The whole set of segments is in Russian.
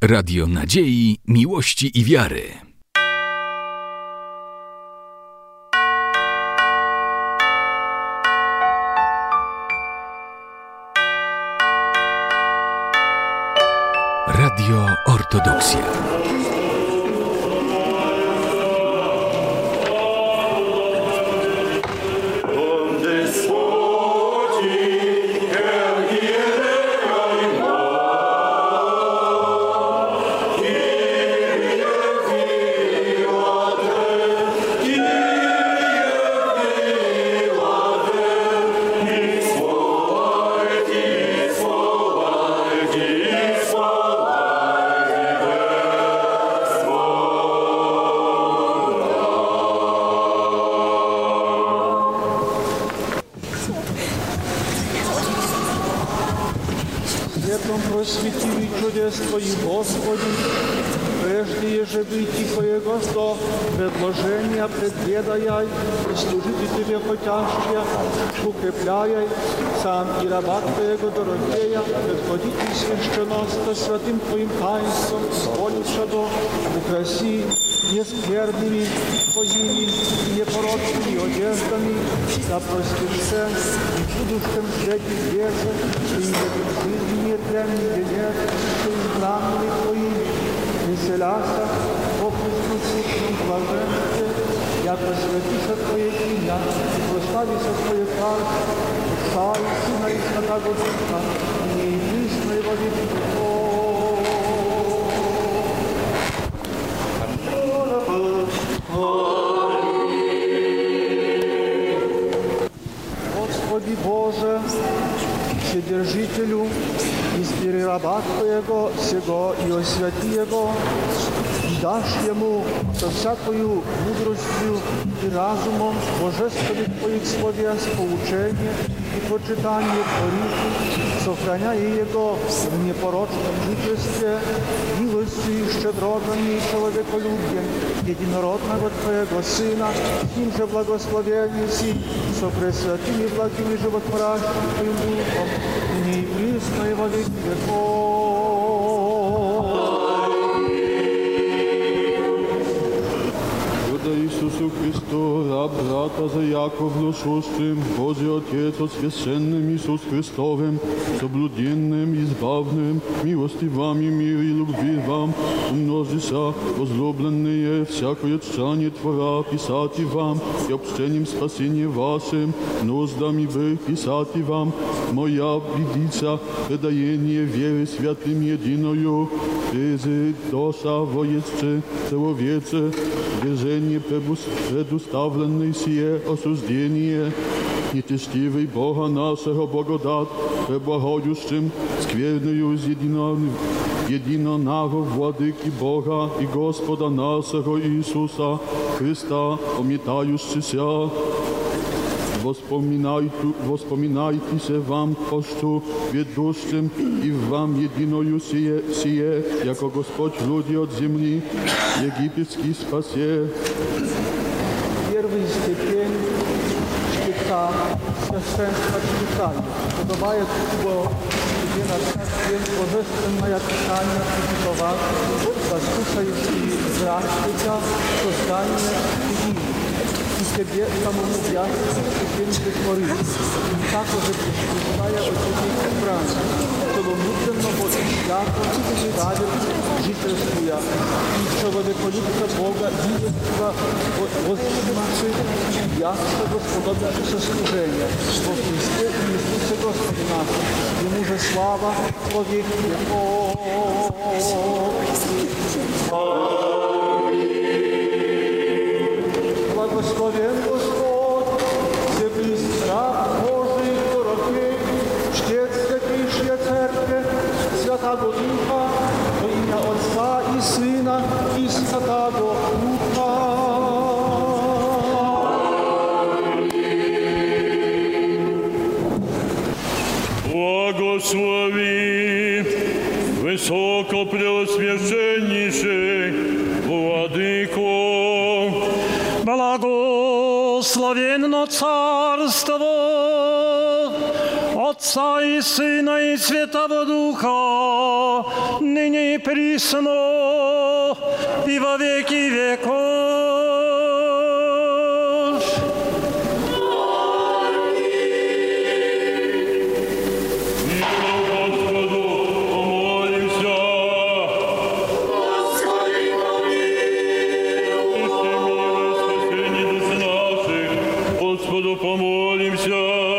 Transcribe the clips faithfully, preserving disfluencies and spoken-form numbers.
Radio Nadziei, Miłości i Wiary. Radio Ortodoksja. Просвети чудес Твоих, Господи, прежде ежели Тихоего сто предложения предведаяй, и служите Тебе хотящие, укрепляй сам и раба Твоего Дорофея, предходите священноста святым Твоим таинством, зволиша до украси нескверными Твоими и непорочными одеждами, да простишься и будущем свете везе, и не жизни мирленный венец, что избранными Твоими, веселяся о Христосущем блаженстве, я просветися Твое имя, и прославися Твое царство, Отца и Сына и Святаго Духа, и присно и во веки веков. Господи Боже, Вседержителю, избери раба Твоего сего и освяти Его, и дашь Ему со всякою мудростью и разумом божественных Твоих словес поучение и почитание Твориху, сохраняя Его в непорочном жительстве, милостью и щедротами и человеколюбием единородного Твоего Сына, с Ним же благословение си, со пресвятыми благими животворящим Твоим Духом, ныне и присно и во веки веков. Иисусу Христу, раб брата за Яковлю, Божий Отец, от священным Иисус Христовым, соблюденным, избавным, милости вам и мир и любви вам, умножися, возлюбленные, всякое тщание Твора, писати вам, и общением спасения вашим, нуждами бы писати вам, моя бедица, предаение веры святым единою, прези доша воесче, человече, движение предуставленное сие осуждение, нечестивый Бога нашего благодат, преблагающим скверною из единого, единого владыки Бога и Господа нашего Иисуса Христа, омитающийся. Воспоминайте, воспоминайтесь вам пощу ведущим и вам единою сие, сие, яко Господь люди от земли египетский спасе. Первый степень чтеца, священства читания. Подобает его тебе на день божественное Писание прочитывать, послушаешь и здравствуйте создание единое. И тебе самому ясно степень притворить. И так уже причитая от этих избранных, целомудренно вот свято и праведно жительствуя. И человеколюбца Бога милостива возвышивши и ясно господобивши служения. Во Христе и Иисусе Господе нашем. Ему же слава во веки веков. Благословен Господь, все близ раб Божий, Дорофей, чтец святейшей Церкви, Святаго Духа, во имя Отца и Сына и Святаго Духа. Благослови высокопреосвященнейший Владыко, благословенно царство Отца и Сына и Святого Духа, ныне и присно, и во веки веков. Господу помолимся. Господи, помилуй. Спасение душ наших, Господу помолимся.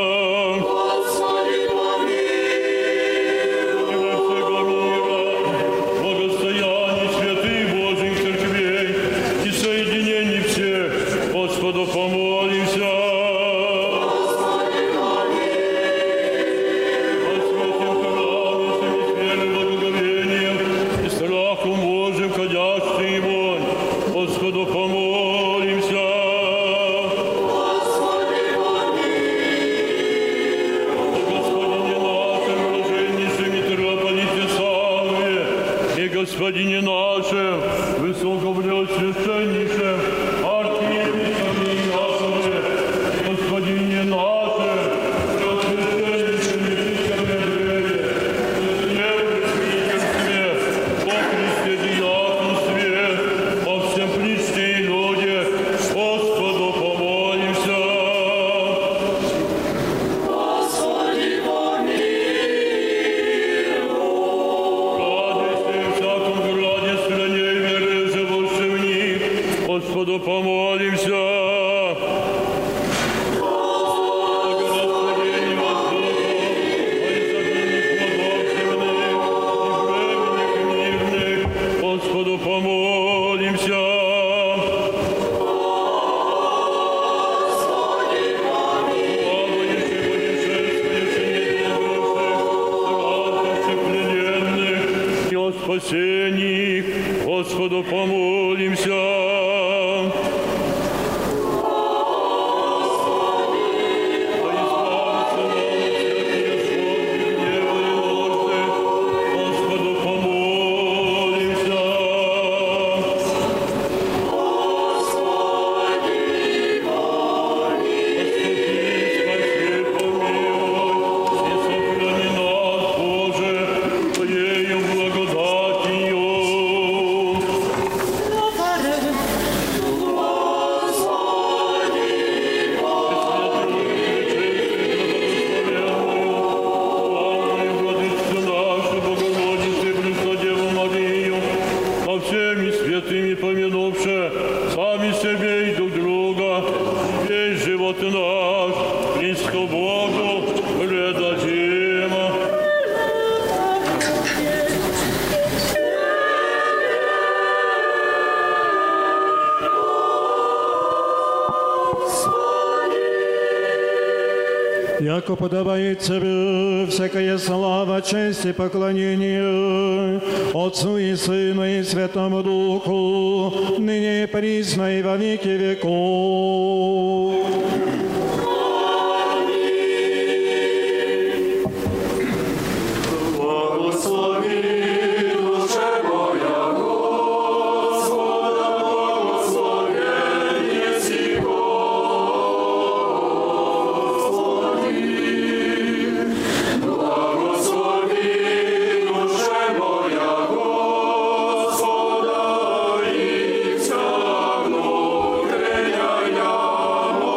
Господине нашем, высокопреосвященнейшем, архиепископе Иакове, Господине нашем, преосвященнейшем епископе Андрея, священничестве, о Христе диаконстве, о всем Христе и люде, Господу помолимся. Господи, помилуй. Господу помолимся. Благословение воздуха, о изобильных плодов земных и временных мирных, Господу помолимся. Господи, помилуй. Плавающих, путешествующих, недобрых, плененных и о спасении, Господу помолимся. Яко подобает Царю всякая слава, честь и поклонение Отцу и Сыну и Святому Духу, ныне и присно и во веки веков. Господи,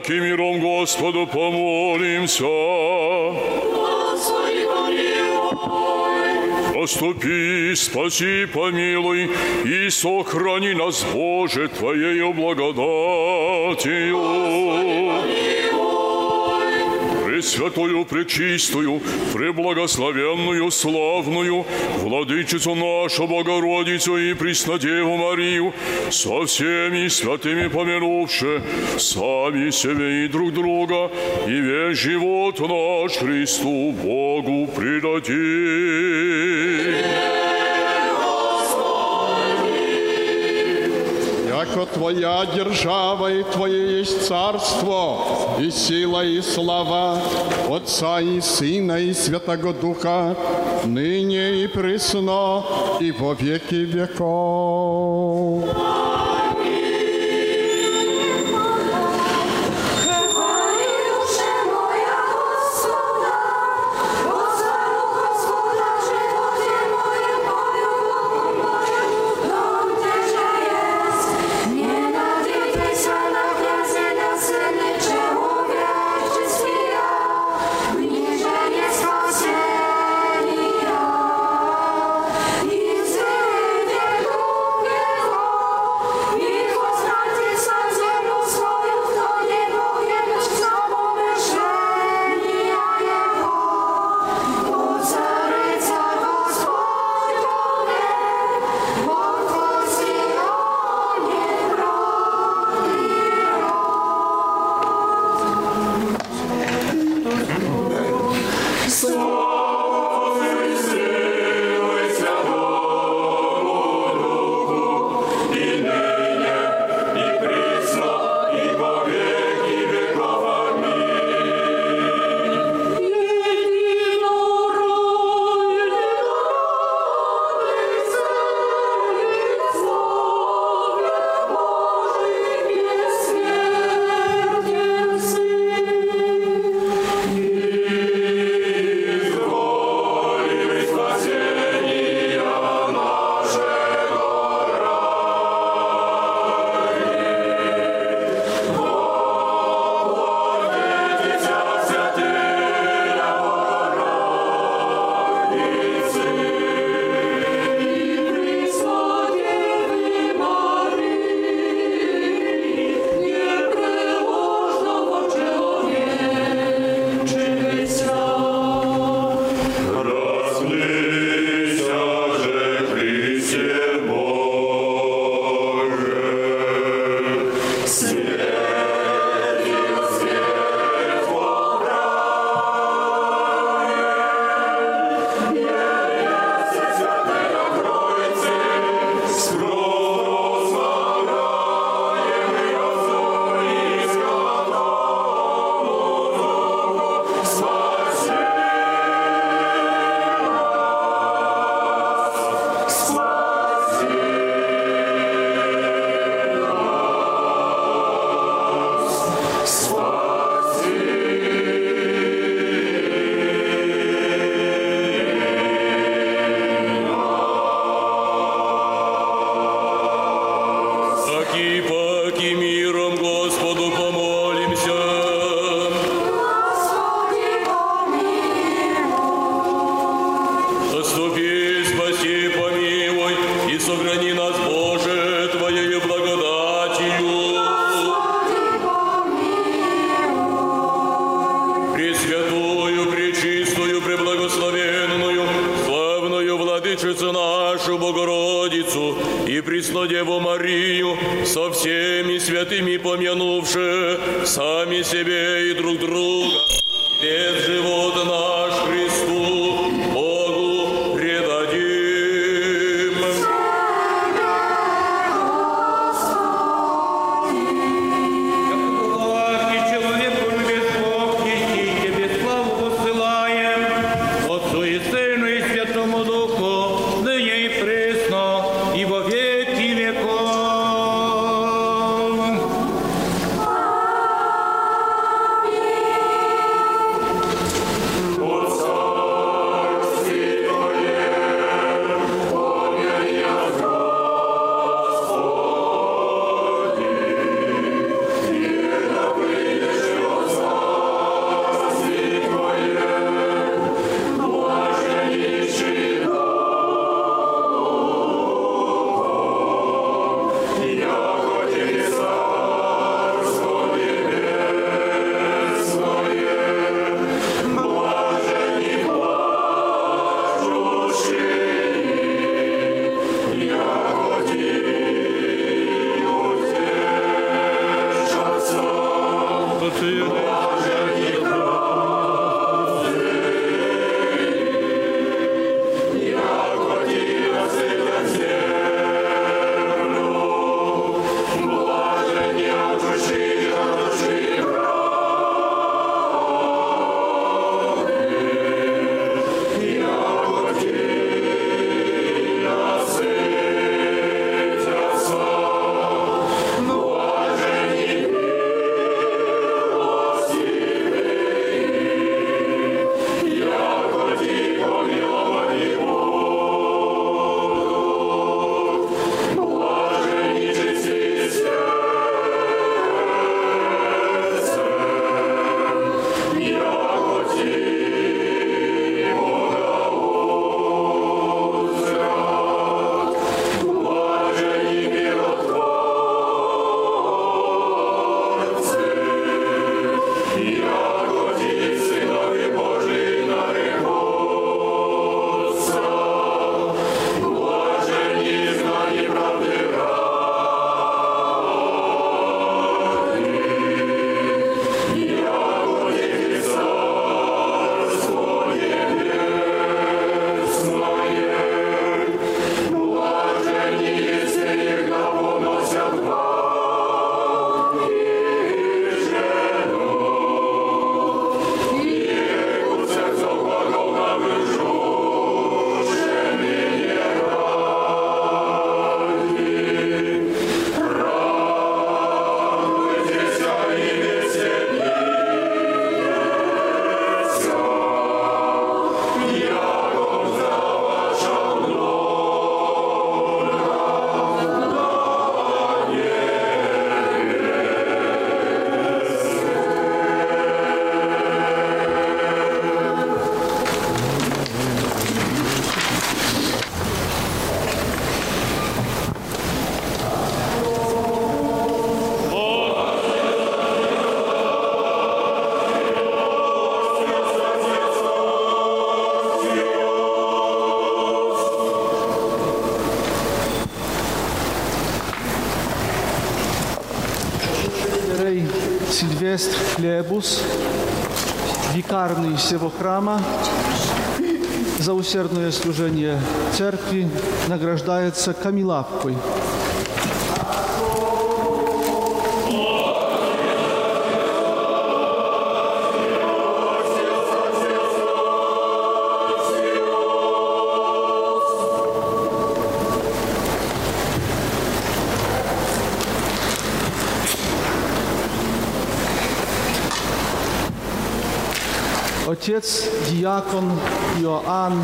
паки миром Господу помолимся. Господи, помилуй. Заступи, спаси, помилуй и сохрани нас, Боже, Твоею благодатью. Пресвятую, пречистую, преблагословенную, славную, Владычицу нашу Богородицу и Преснодеву Марию, со всеми святыми помянувши сами себе и друг друга, и весь живот наш Христу Богу предадим. Яко Твоя держава и Твое есть царство, и сила, и слава Отца и Сына и Святого Духа, ныне и присно, и во веки веков. Владычицу нашу Богородицу и Преснодеву Марию, со всеми святыми помянувши сами себе и друг друга, весь живот наш Христу Богу предадим. Аминь. Сильвестр Хлебус, викарный всего храма, за усердное служение церкви награждается камилавкой. Отец диакон Иоанн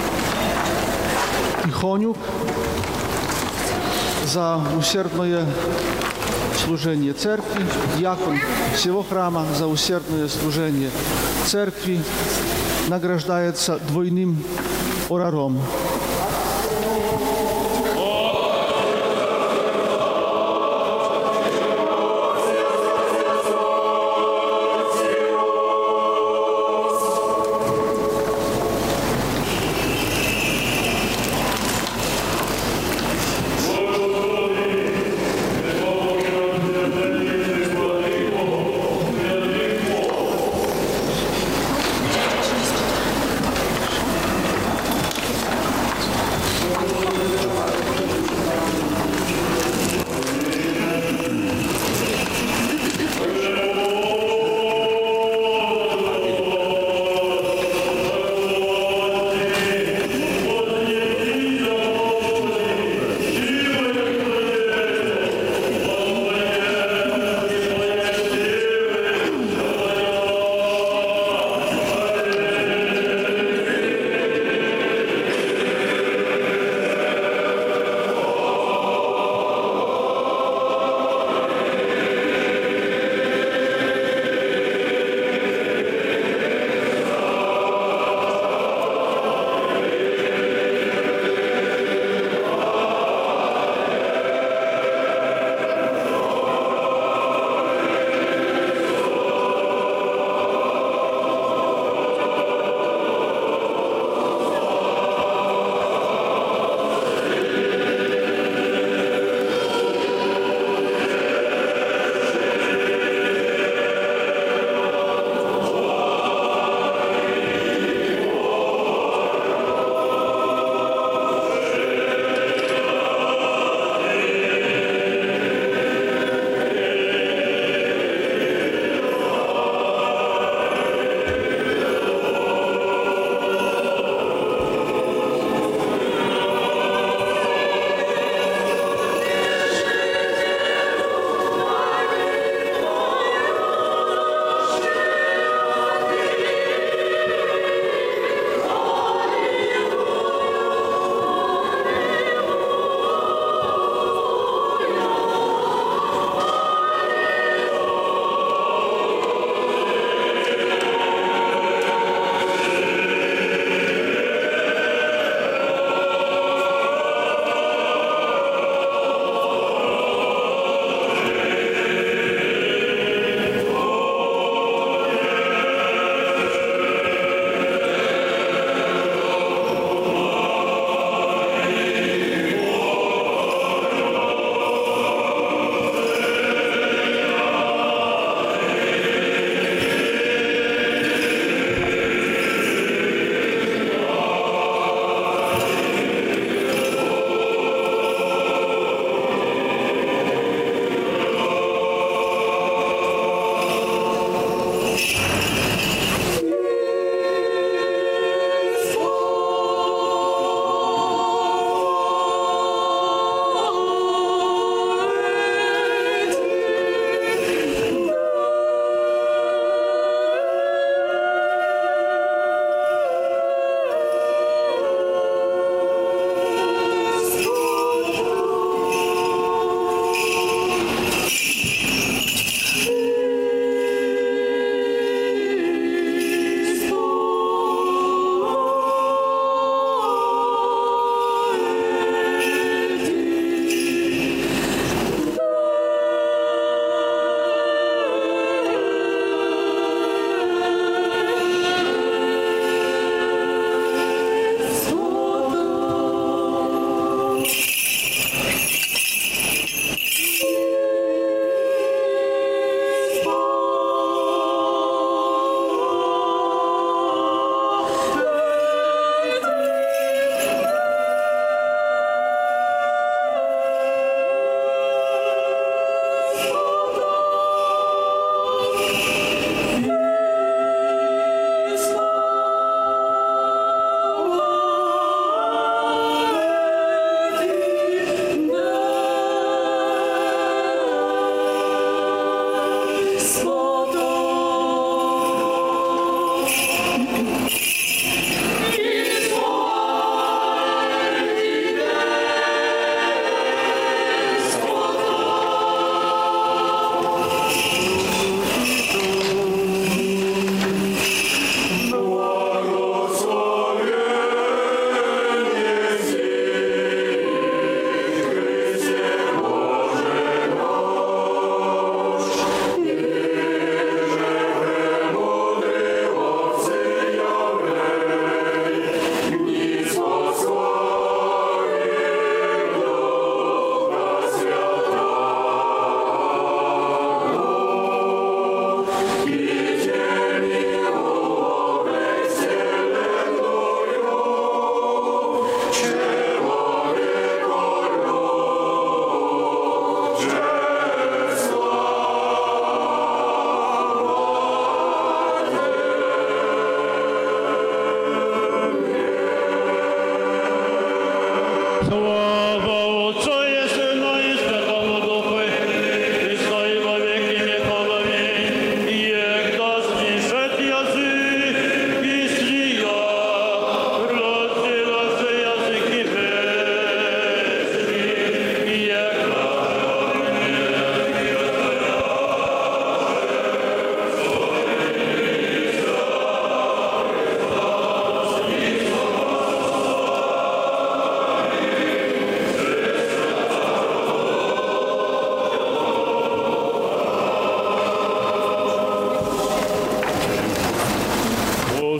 Тихонюк за усердное служение церкви, диакон всего храма за усердное служение церкви награждается двойным ораром.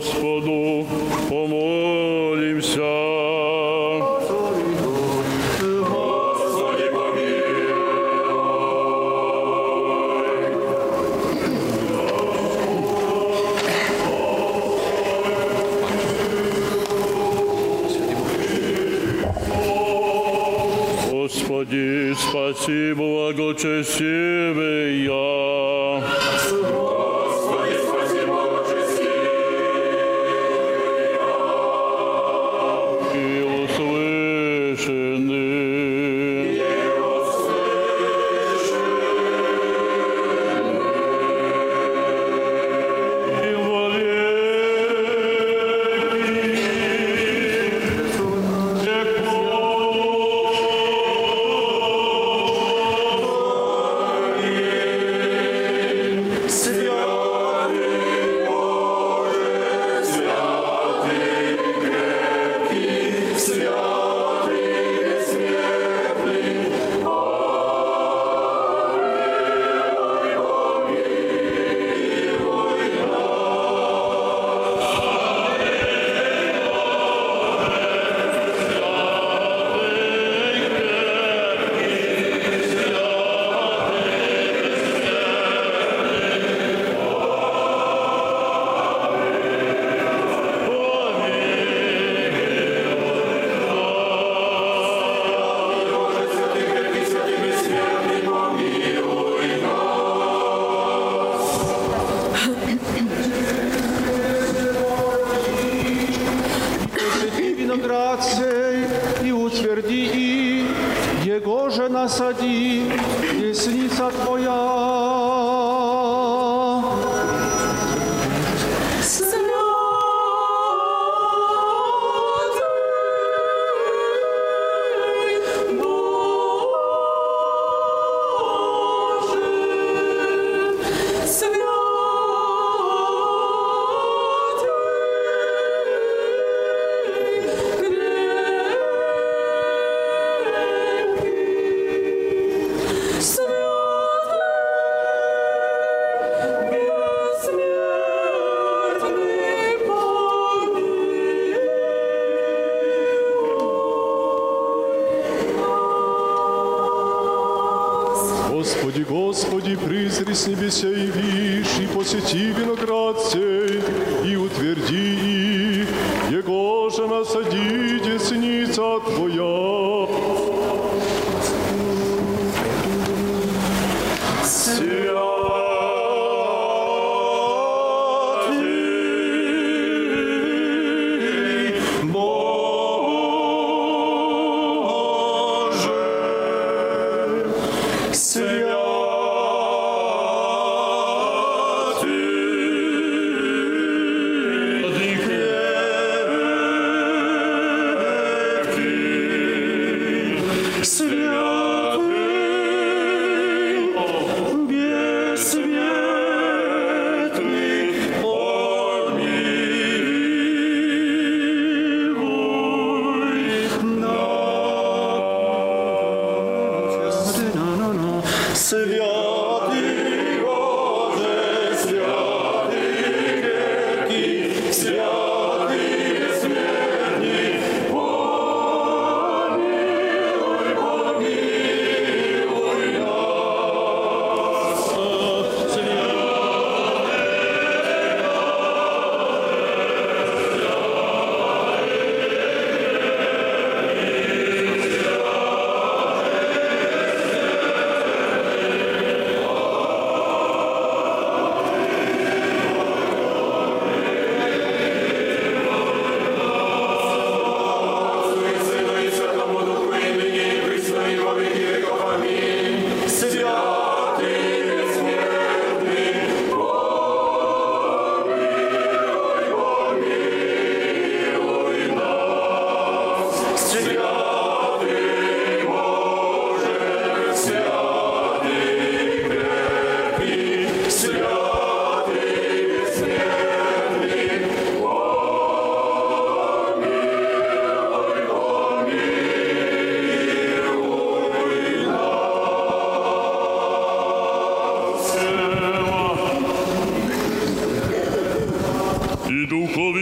Господу помолимся. Господи, Господи, спаси благочестивый я. Господи, спаси благочестивый И услышаны. виноградцей и утверди и, его же насади, десница Твоя. Господи, Господи, призри с небеся и вишь, и посети виноград сей, и утверди их, его же насади десница Твоя. Святый,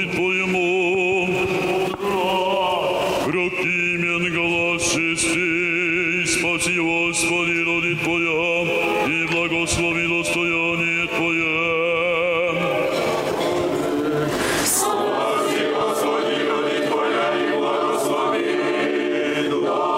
Твоему. Прокимен голос чистый, спаси, Господи, роди Твоя, и благослови достояние Твое. Спаси, Господи, роди Твоя, и благослови достояние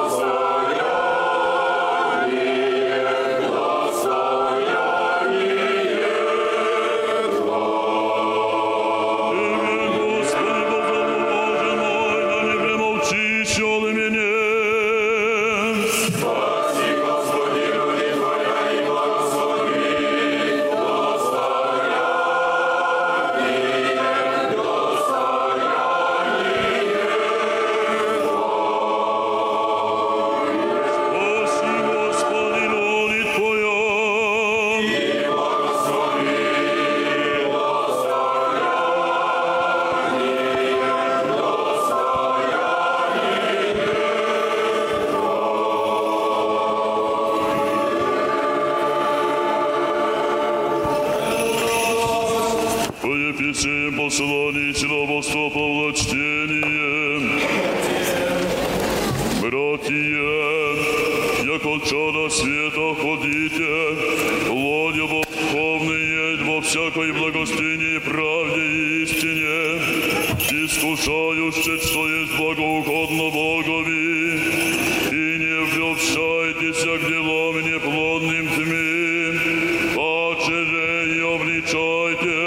Ефесеем послание Силоводства Павла чтение. Братья, яко чада света ходите, владя духовные во всякой благостыне и правде и истине, искушающе, что есть благоугодно Богови, и не влюбщайтесь к делам неплодным тьмы, паче же и обличайте,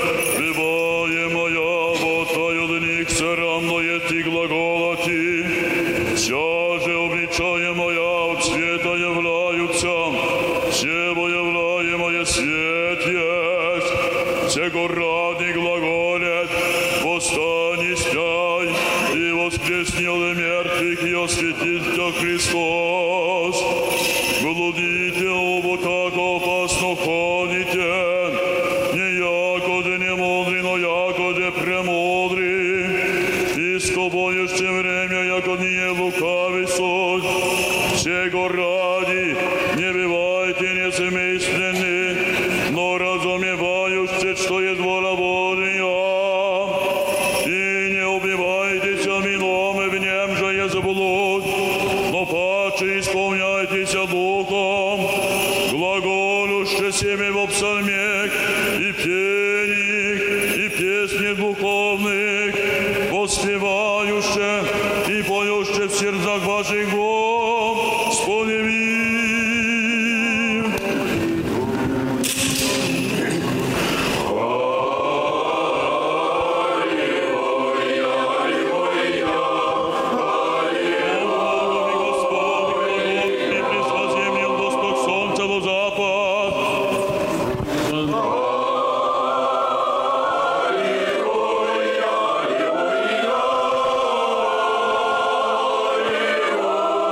и глаголати, вся же обличаемая от света являются, всего являемое свет есть, всего ради глаголет, восстань и спяй, и воскресни от мертвых, и осветит тебя Христос. Блудите оба, как опасно ходите, не якоде не мудрый, но якоде премудрый. Боюще время, яко не лукавый суд, всего ради не бывайте несмысленны, но разумевающе, что есть воля Божия, и не убивайтесь вином, и в нем же есть блуд, но паче исполняйтесь духом, глаголюще себе в псалмех и пениях, и песнях духовных, воспевающе и поюще в сердцах ваших Господи. Аллилуйя.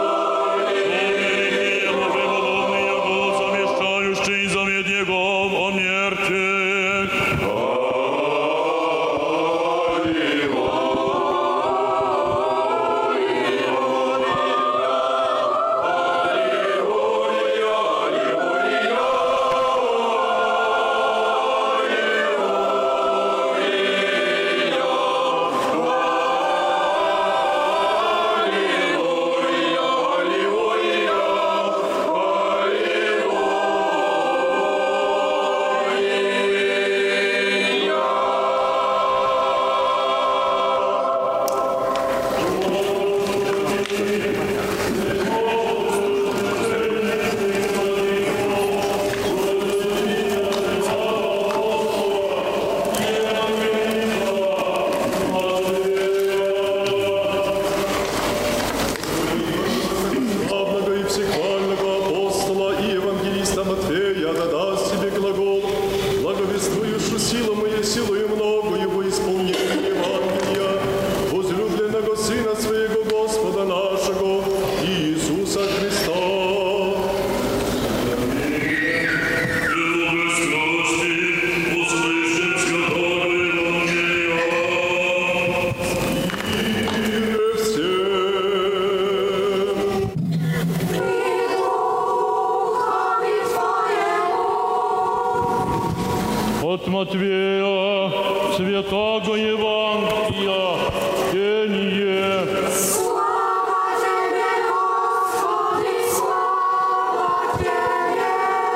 благословение. Слава Тебе, Господи, слава Тебе.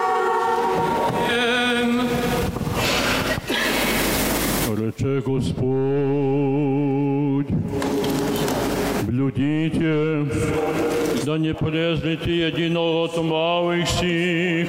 Рече Господь, блюдите, да не презрите единого от малых сих,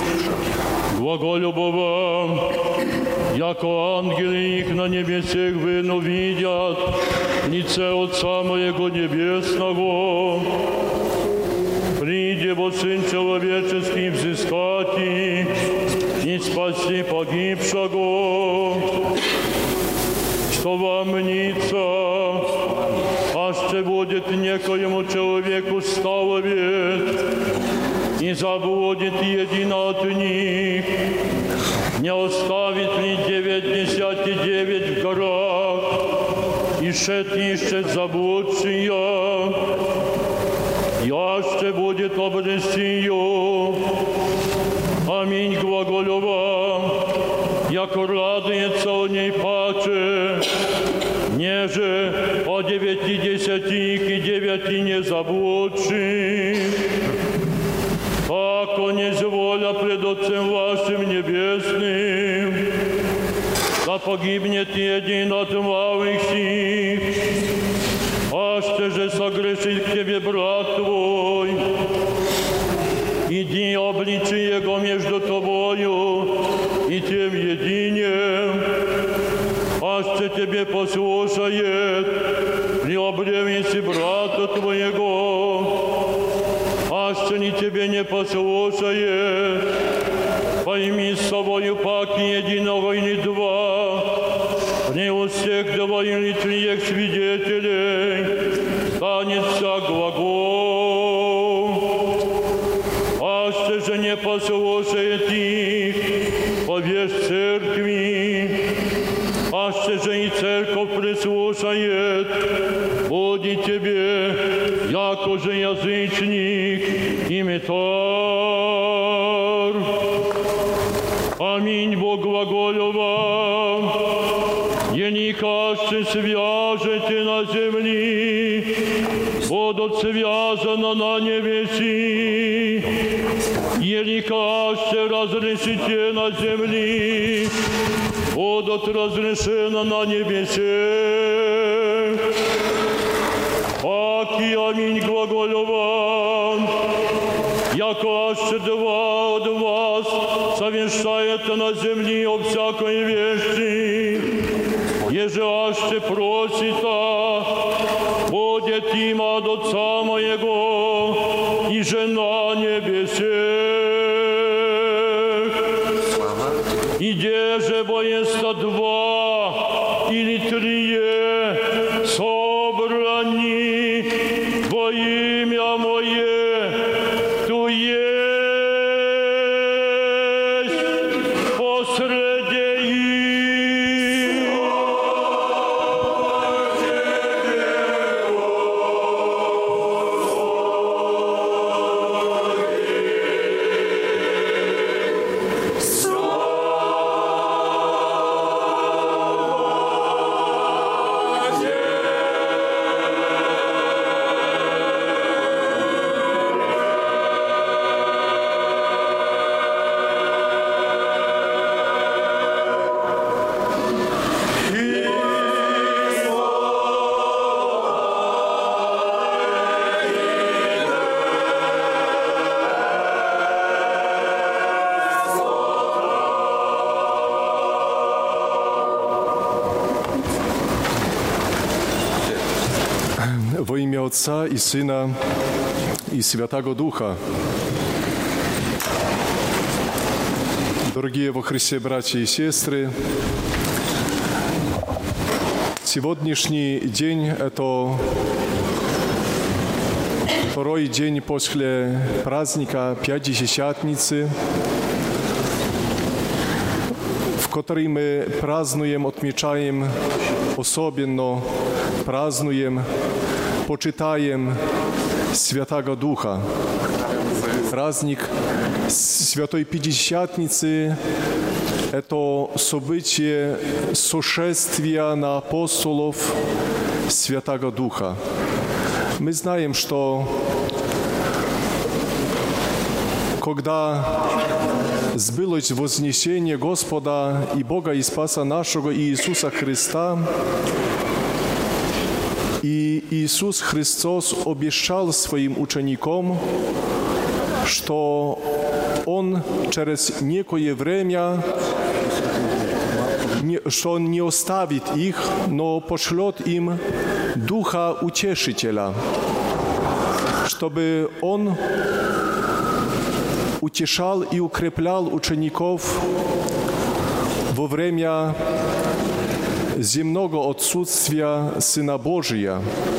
глаголюбова, яко ангели их на небесах вину видят, лице Отца Моего Небесного. Приди, во Сын Человеческий, взыскать их и спаси погибшего. Что вам мнится, аще будет некоему человеку ставовет, и заблудит един от них, не оставит ли девятьдесят и девять в горах, и шет ищет заблудшия, яще будет обрести. Аминь, глаголю вам, яко радуется о ней паче, неже о девяти десятих и девяти не заблудших. Ако не воля пред Отцем вашим небесным, да погибнет един от малых сих, аще же согрешит к тебе брат твой, иди обличи его между тобою и тем единем, аще тебе послушает при обревении брата твоего, аще ни тебе не послушает, пойми с собою паки единого или два, не у всех два или трех свидетелей станется глагол. Аще же не послушает их, повешь церкви, аще же и церковь прислушает, будет тебе, яко же язычник и метар. Аминь, Бог глаголю вам, еникаще свяжете на земли, будут связаны на небеси, еникаще разрешите на земли, будут разрешены на небесе. Аки, аминь, глаголю вам, яко аще два от вас совершает на земле о всякой вещи, еже аще просита, будет им от Отца Моего и жена небесе. И деже боеста два или трие собрани во имя Мое, ту есть посреди их. Во имя Отца и Сына и Святого Духа. Дорогие во Христе братья и сестры, сегодняшний день – это второй день после праздника Пятидесятницы, в который мы празднуем, отмечаем, особенно празднуем, почитаем Святого Духа. Праздник Святой Пятидесятницы – это событие сошествия на апостолов Святого Духа. Мы знаем, что когда сбылось вознесение Господа и Бога и Спаса нашего Иисуса Христа, и Иисус Христос обещал своим ученикам, что Он через некое время, что Он не оставит их, но пошлет им Духа Утешителя, чтобы Он утешал и укреплял учеников во время земного отсутствия Сына Божия.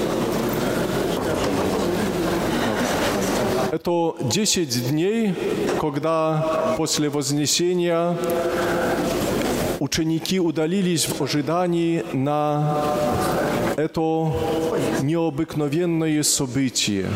Это десять дней, когда после вознесения ученики удалились в ожидании на это необыкновенное событие.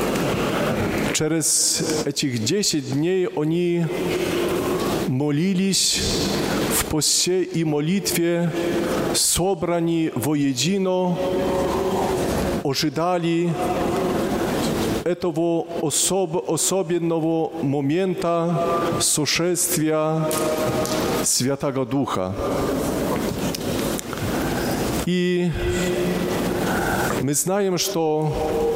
Через этих десять дней они молились в посте и молитве, собраны воедино, ожидали этого особ, особенного момента сошествия Святого Духа. И мы знаем, что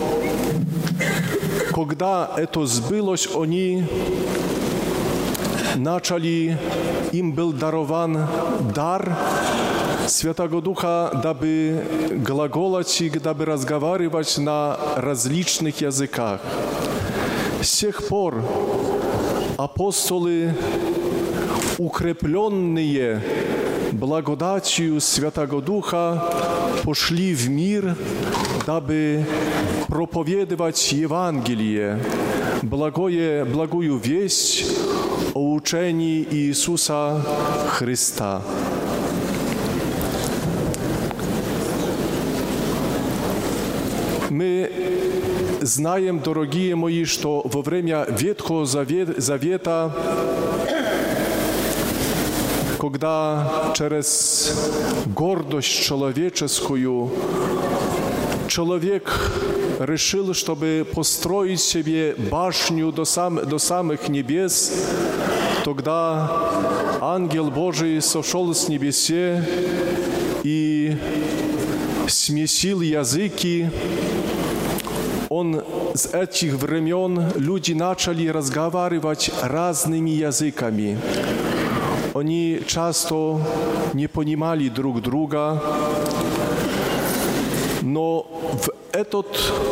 когда это сбылось, они начали, им был дарован дар Святого Духа, дабы глаголать, дабы разговаривать на различных языках. С тех пор апостолы, укрепленные благодатью Святого Духа, пошли в мир, дабы проповедовать Евангелие, благое, благую весть о учении Иисуса Христа. Мы знаем, дорогие мои, что во время Ветхого Завета, когда через гордость человеческую человек решил, чтобы построить себе башню до, сам, до самых небес, тогда ангел Божий сошел с небесе и смесил языки. Он с этих времен люди начали разговаривать разными языками. Они часто не понимали друг друга, но в этот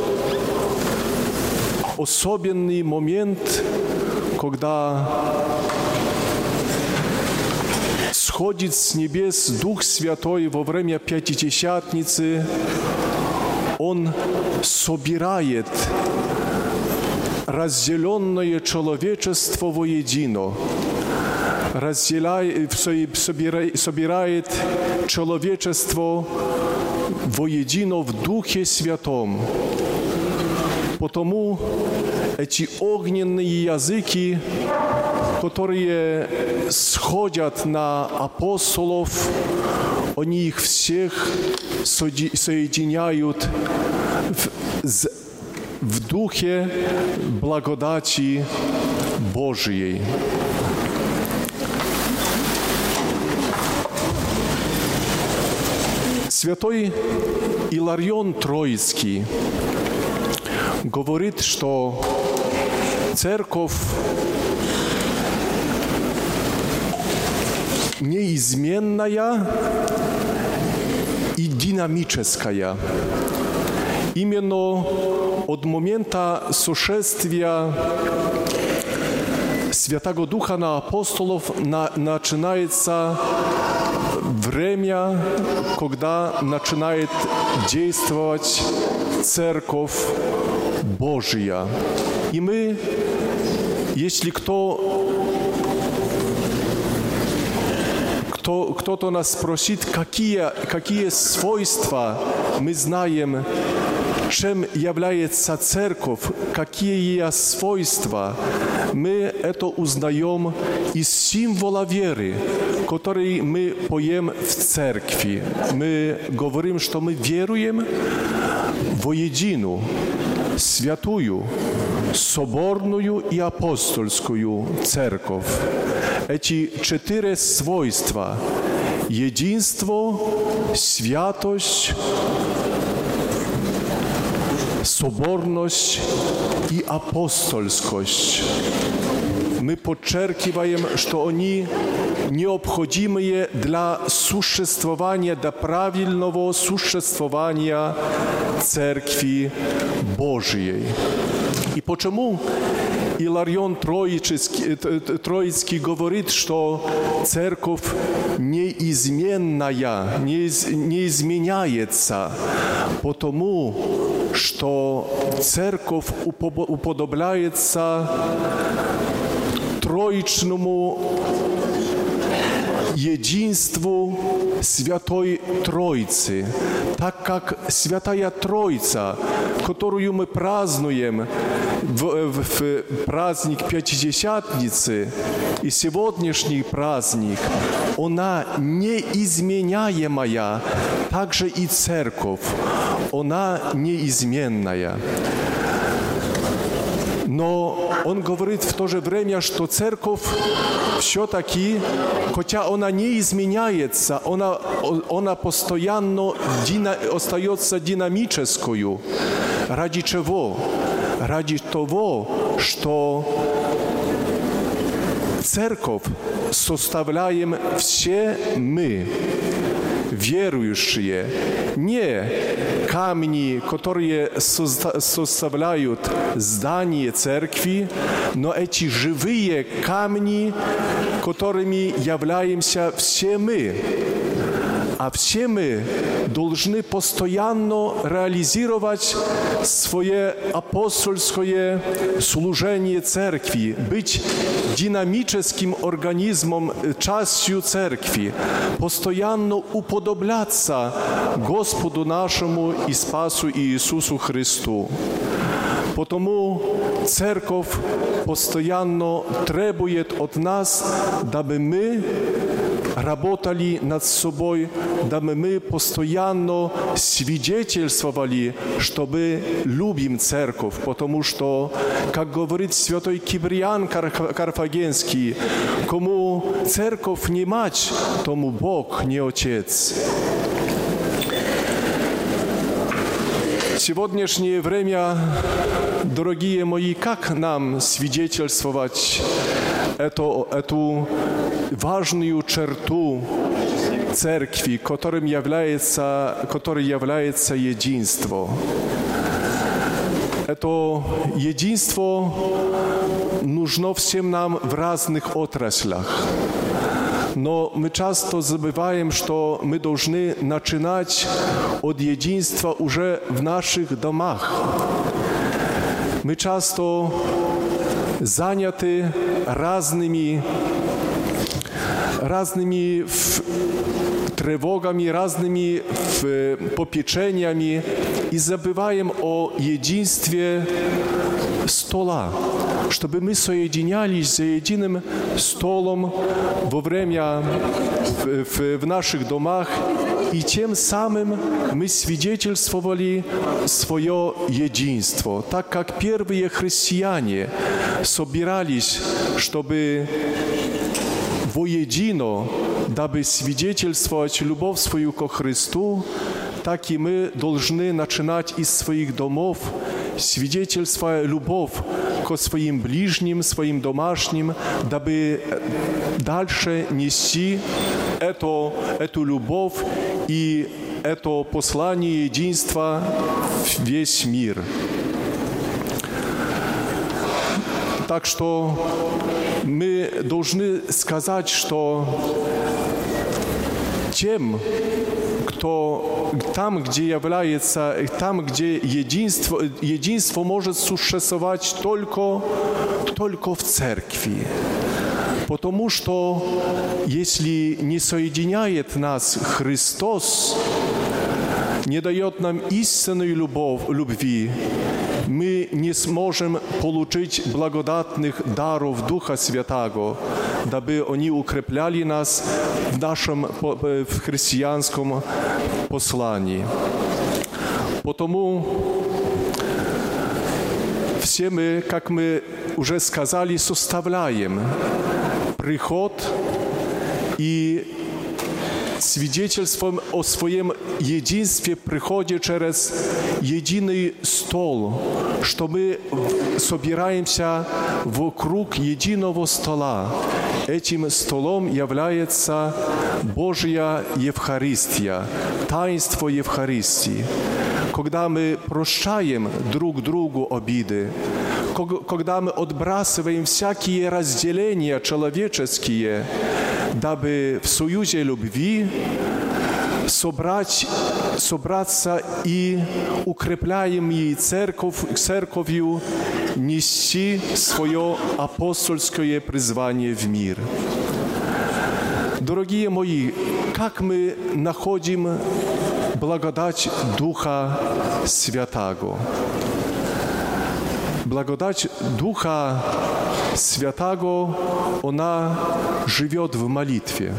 особенный момент, когда сходит с небес Дух Святой во время Пятидесятницы, Он собирает разделенное человечество воедино, разделяет, собирает человечество воедино в Духе Святом. Потому эти огненные языки, которые сходят на апостолов, они их всех соединяют в, в духе благодати Божией. Святой Иларион Троицкий говорит, что церковь неизменная и динамическая. Именно от момента сошествия Святого Духа на апостолов на, начинается время, когда начинает действовать Церковь Божия. И мы, если кто Кто, кто-то нас спросит, какие, какие свойства мы знаем чем является церковь, какие ее свойства, мы это узнаем из символа веры, который мы поем в церкви. Мы говорим, что мы веруем воедино, святую, соборную и апостольскую церковь. Эти четыре свойства – единство, святость, соборность и апостольскость. Мы подчеркиваем, что они необходимые для существования, для правильного существования Церкви Божьей. И почему Иларион Троицкий, Троицкий говорит, что Церковь неизменная, не изменяется, потому что Церковь уподобляется троичному единству Святой Троицы, так как Святая Троица, которую мы празднуем в, в, в праздник Пятидесятницы и сегодняшний праздник, она неизменяемая, также и Церковь, она неизменная. Но он говорит в то же время, что церковь все-таки, хотя она не изменяется, она, она постоянно дина, остается динамической. Ради чего? Ради того, что церковь составляем все мы, верующие, не камни, которые составляют здание церкви, но эти живые камни, которыми являемся все мы. А все мы должны постоянно реализировать свое апостольское служение церкви, быть динамическим организмом, частью церкви, постоянно уподобляться Господу нашему и Спасу Иисусу Христу. Потому церковь постоянно требует от нас, дабы мы работали над собой, дабы мы постоянно свидетельствовали, что мы любим церковь, потому что, как говорит святой Киприан Карфагенский, кому церковь не мать, тому Бог не отец. В сегодняшнее время, дорогие мои, как нам свидетельствовать эту, эту важную черту церкви, которым является, которой является единство? Это единство нужно всем нам в разных отраслях. Но мы часто забываем, что мы должны начинать от единства уже в наших домах. Мы часто заняты разными, разными тревогами, разными попечениями и забываем о единстве стола, чтобы мы соединялись за единым столом во время в, в, в наших домах, и тем самым мы свидетельствовали свое единство, так как первые христиане собирались, чтобы воедино, дабы свидетельствовать любовь свою ко Христу, так и мы должны начинать из своих домов, свидетельствуя любовь ко своим ближним, своим домашним, дабы дальше нести эту, эту любовь и это послание единства в весь мир. Так что мы должны сказать, что тем, кто там, где является, там, где единство, единство может существовать только, только в церкви. Потому что если не соединяет нас Христос, не дает нам истинной любовь, любви, мы не сможем получить благодатных даров Духа Святаго, дабы они укрепляли нас в нашем в христианском послании. Потому все мы, как мы уже сказали, составляем приход и свидетельством о своем единстве приходе через единый стол, что мы собираемся вокруг единого стола. Этим столом является Божья Евхаристия, таинство Евхаристии. Когда мы прощаем друг другу обиды, когда мы отбрасываем всякие разделения человеческие, дабы в союзе любви собрать, собраться и укрепляемой церковь, церковью нести свое апостольское призвание в мир. Дорогие мои, как мы находим благодать Духа Святаго? Благодать Духа Святаго, она живет в молитве.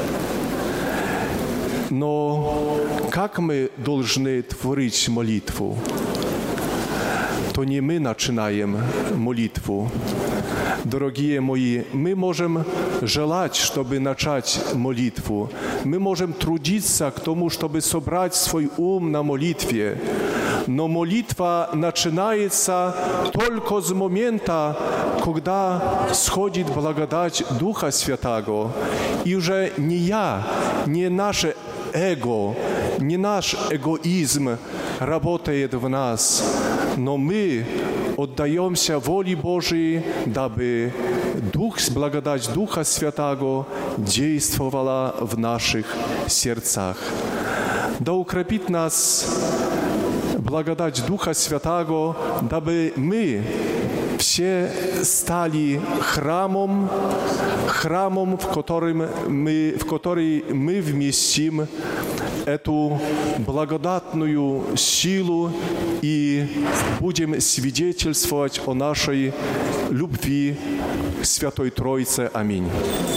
Но как мы должны творить молитву? То не мы начинаем молитву. Дорогие мои, мы можем желать, чтобы начать молитву. Мы можем трудиться к тому, чтобы собрать свой ум на молитве. Но молитва начинается только с момента, когда сходит благодать Духа Святаго. И уже не я, не наше эго, не наш эгоизм работает в нас, но мы отдаемся воле Божией, дабы Дух, благодать Духа Святаго действовала в наших сердцах. Да укрепит нас благодать Духа Святаго, дабы мы все стали храмом, храмом, в котором мы, в который мы вместим эту благодатную силу и будем свидетельствовать о нашей любви к Святой Троице. Аминь.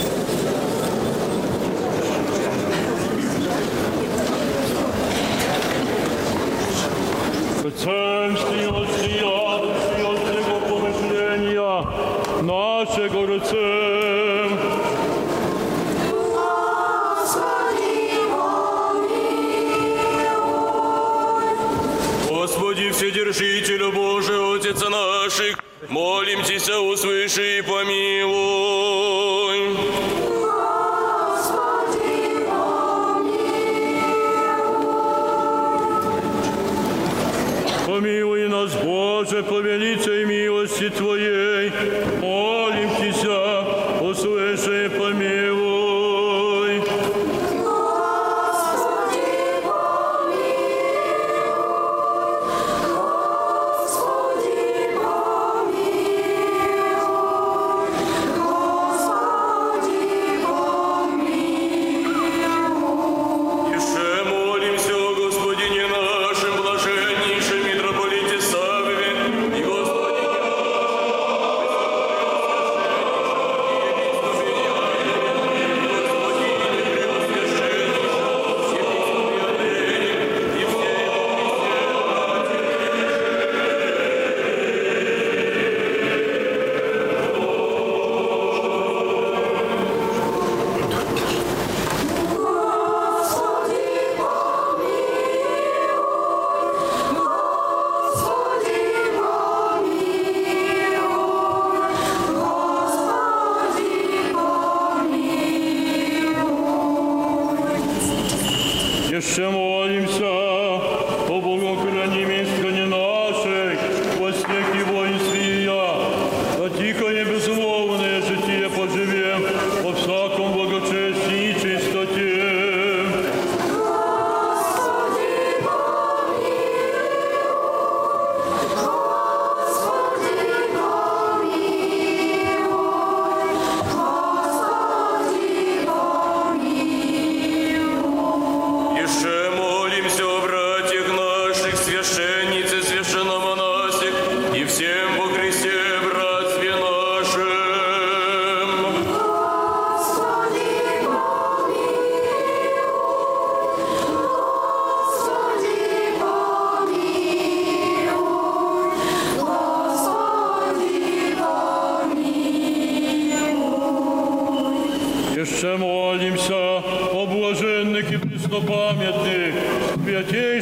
Нашего рыцем. Господи, Вседержителю Божий, Отец наших, молим Тебя, услыши и помилуй. Господи, помилуй нас, Боже, по великой милости Твоей, молим Тебя, услыши и помилуй. Господи, помилуй. Господи, помилуй. Господи, помилуй. Еще молимся о Господине нашем, блаженнейшем митрополите Савве, и Господине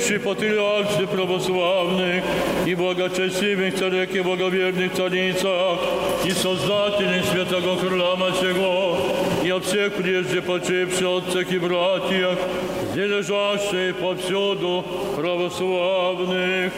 святейших патриарших православных и благочестивых царях и благоверных царицах, и создателей святого храма сего, и о всех прежде почивших отцах и братьях, где лежащие повсюду православных.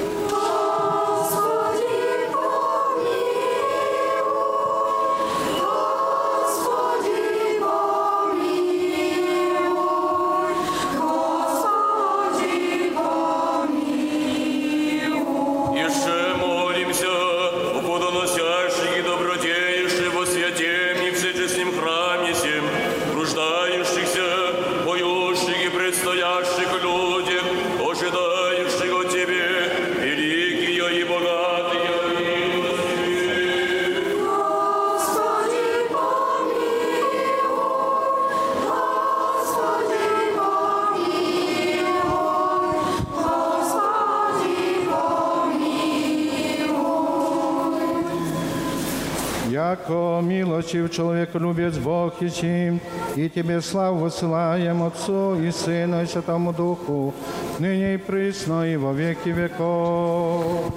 Яко милостив человеколюбец Бог и сим, и Тебе славу высылаем Отцу и Сыну и Святому Духу, ныне и присно и во веки веков.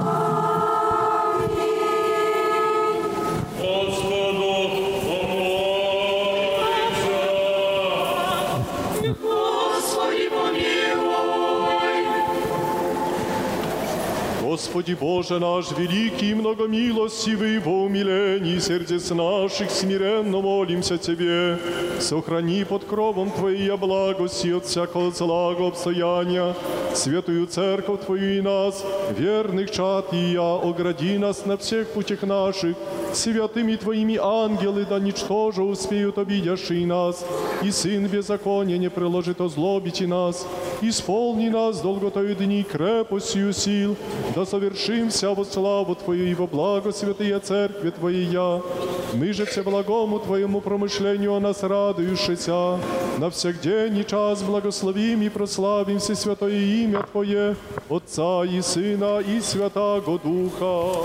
Господи Боже наш, великий и многомилостивый, во умилении сердец наших смиренно молимся Тебе. Сохрани под кровом Твоей благости от всякого злого обстояния святую церковь Твою и нас, верных чад и я, огради нас на всех путях наших, святыми Твоими ангелы, да ничтоже успеют обидящие нас, и Сын беззакония не приложит озлобить и нас, исполни нас долготою дни крепостью сил, да совершимся во славу Твою и во благо святые Церкви Твоей я. Мы же все благому Твоему промышлению о нас радующийся, на всех день и час благословим и прославим все святое имя Твое, Отца и Сына и Святаго Духа.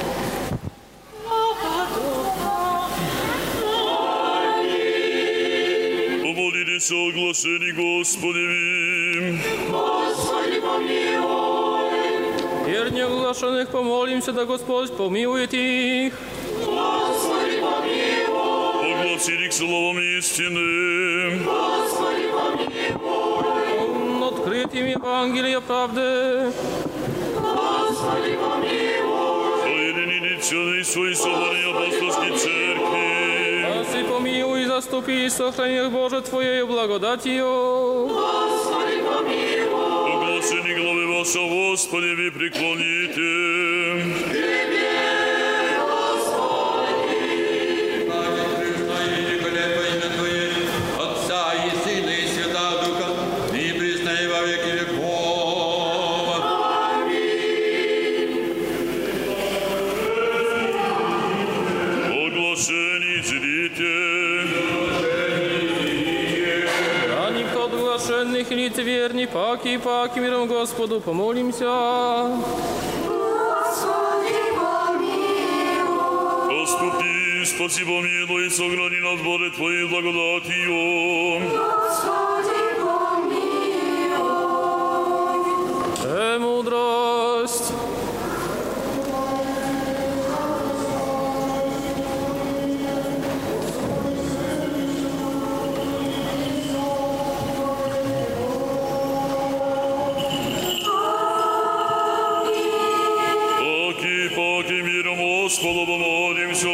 Помолились о оглашении Господевим. Господи, помилуй. Верне оглашенных помолимся, да Господь помилует их. Господи, помилуй. Огласили к словам истины. Господи, помилуй. Открытием Евангелия правды. Господи, помилуй. Соединили целый свой соборной апостольской церкви. Спаси, помилуй, заступи и сохрани их, Боже, Твоею благодатью. Господи, помилуй. Оглашение главы вашего, Господи, вы преклоните. Лиц верни, паки и паки, миром Господу помолимся. Господи, помилуй. Оступи, спаси, помилуй, сохрани нас, Боже, Твоей благодатью. Господи, помилуй. Премудрость. Господу помолимся.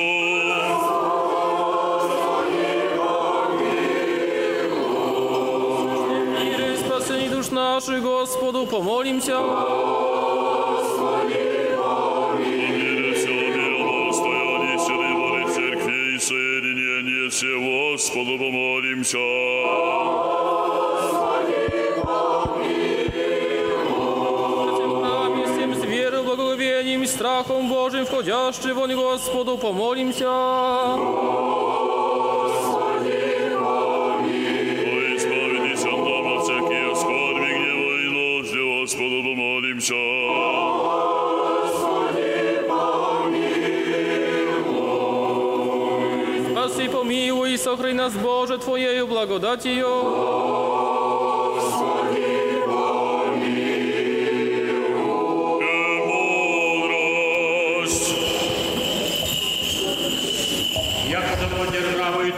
Мир и спасение душ наших, Господу помолимся. Господи, помилуй. Мир всего мира, достояние святой Божьей Церкви и соединение всего, Господу помолимся. Страхом Божьим входящий вон Господу помолимся. Господи, помилуй. О, избавитесь от нам от всяких скорби, гнева и ложи, Господу помолимся. Господи, помилуй. Спаси, помилуй и сохрани нас, Боже, Твоею благодатью. Господи, помилуй.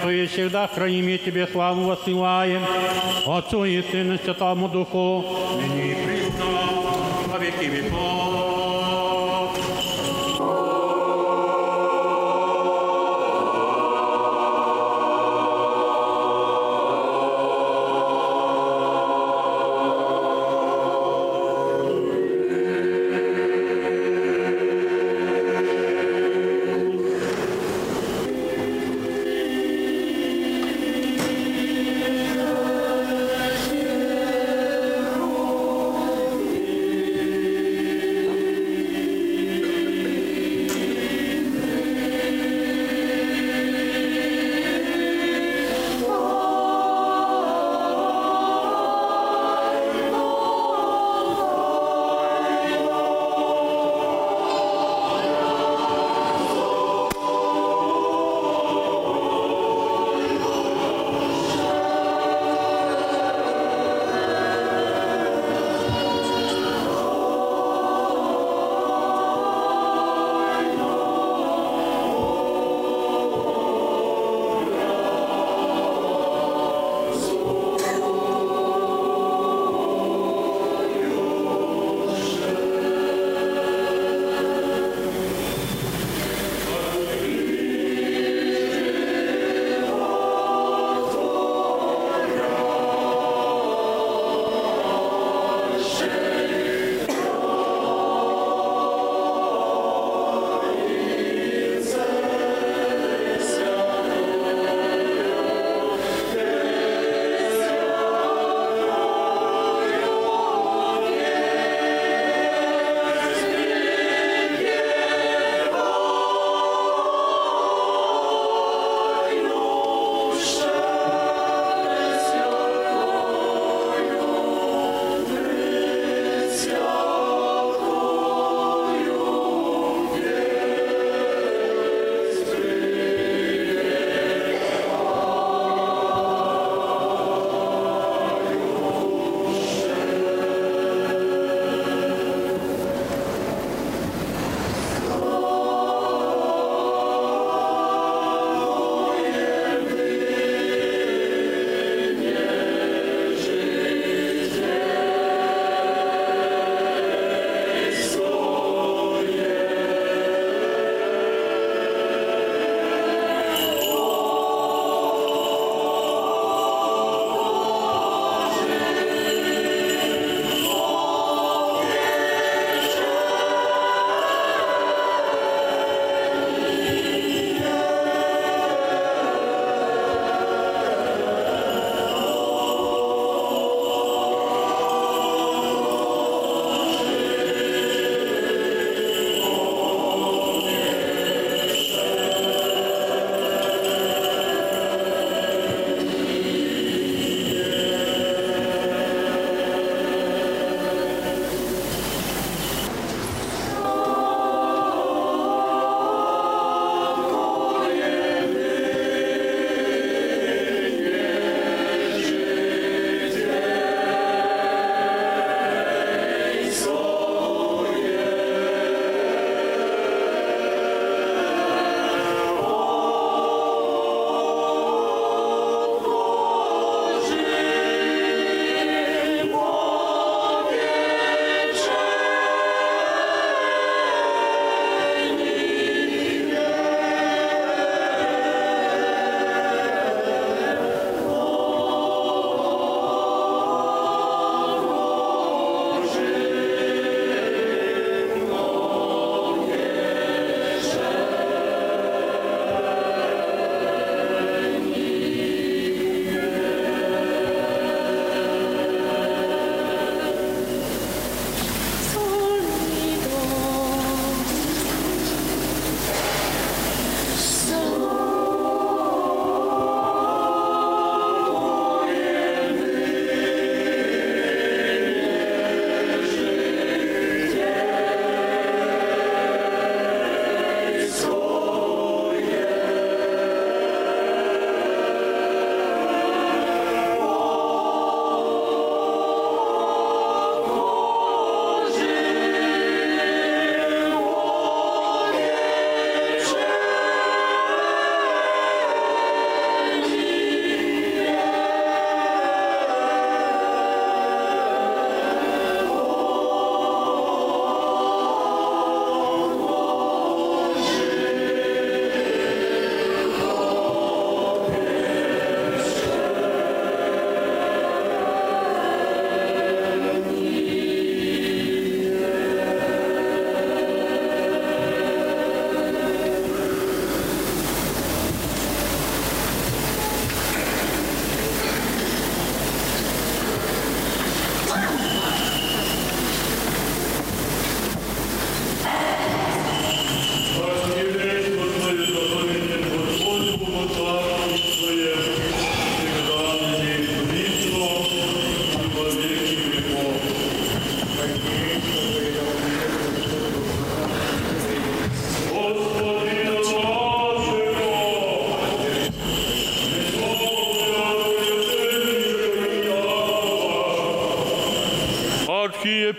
и всегда храним и Тебе славу воссылаем, Отцу и Сыну и Святому Духу, ныне и присно, во веки веков.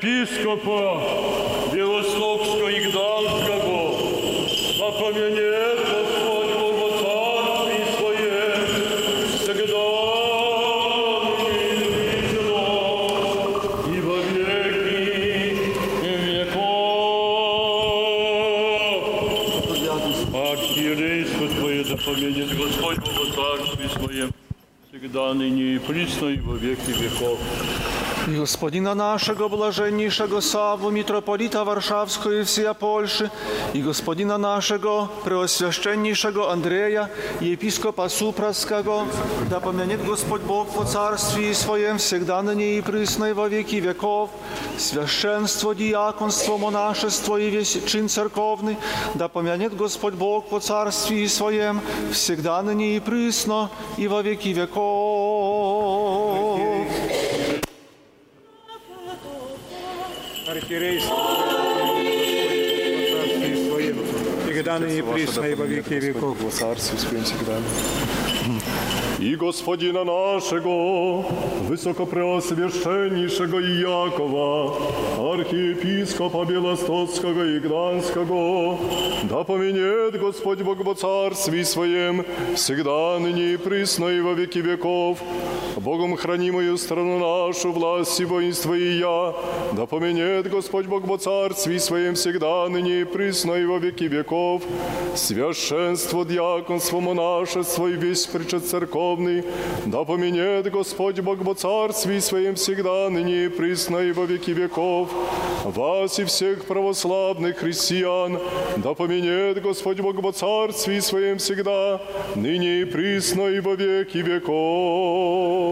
епископа Белостокского и Гданского, да поменет Господь Бог во царстве Своем, всегда и во веки веков. Архиерейство Твое да поменет Господь Бог во царстве Своем, всегда ныне и присно и во веки веков. I gospodina naszego blażenniejszego Sawu, mitropolita warszawskiego i wsija Polszy, i gospodina naszego preoswiaszczenniejszego Andrzeja i episkopa Supraskiego, da pominiet Gospodь Bóg po carstwie swojem, всегда ныне и присно и во веки веков, священство, диаконство, монашество и весь чин церковный, да помянет Господь Бог по царстве своем, всегда ныне и присно и во веки веков. Архиерейство, всегда ныне присно и во веки веков. И Господина нашего, высокопреосвященнейшего Иакова, архиепископа Белостокского и Гданского, да поменет Господь Бог во царстве Своем, всегда ныне и присно и во веки веков. Богом хранимую страну нашу, власть и воинство и я, да поменет Господь Бог во царстве Своем, всегда ныне и присно и во веки веков. Священство, диаконство, монашество и весь причет церковный, да поменет Господь Бог во царстве Своем, всегда ныне и присно и во веки веков. Вас и всех православных христиан, да поменет Господь Бог во царстве Своем, всегда ныне и присно и во веки веков.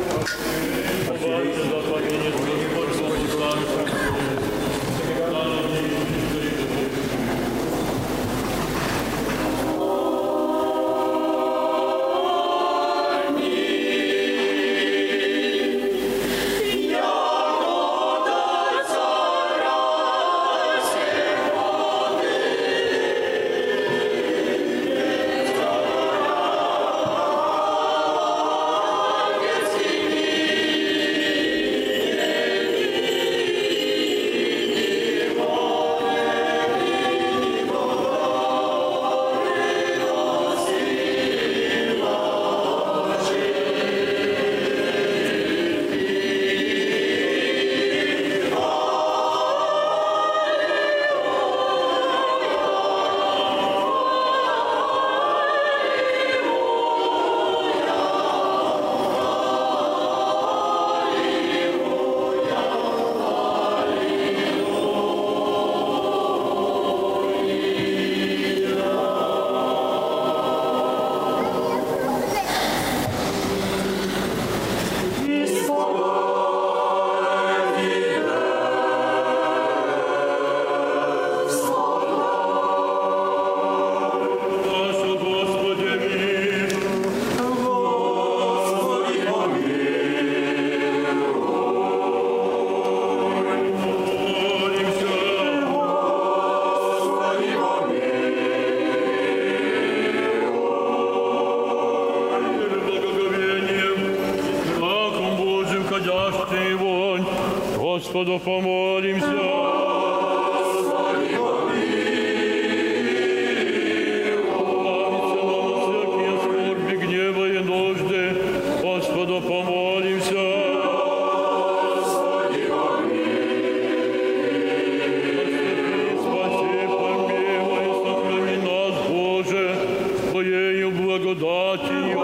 Господу помолимся. Господи, помилуй. Скорби, гнева и нужды, Господу помолимся. Господи, помилуй. Спаси, помилуй, сохрани нас, Боже, Твоею благодатью.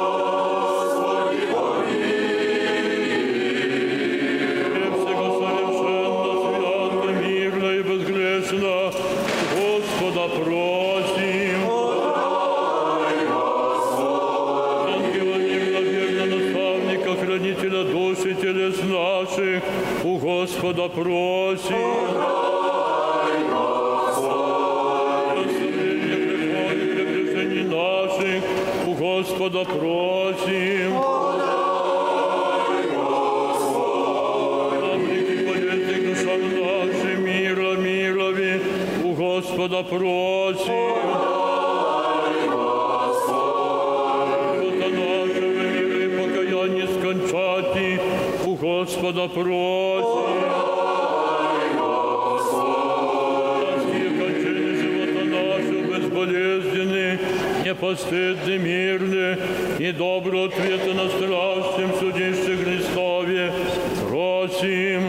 У Господа просим. Подай, Господи. Прощение грехов и прегрешений наших у Господа просим. Подай, Господи. Облики болезни душам нашим, мира, мирови у Господа просим. Подай, Господи. Живота нашего мира и покаяние скончати у Господа просим. безболезненный, непостыдный, мирный и добрый ответ на страшном судище Христове. Просим.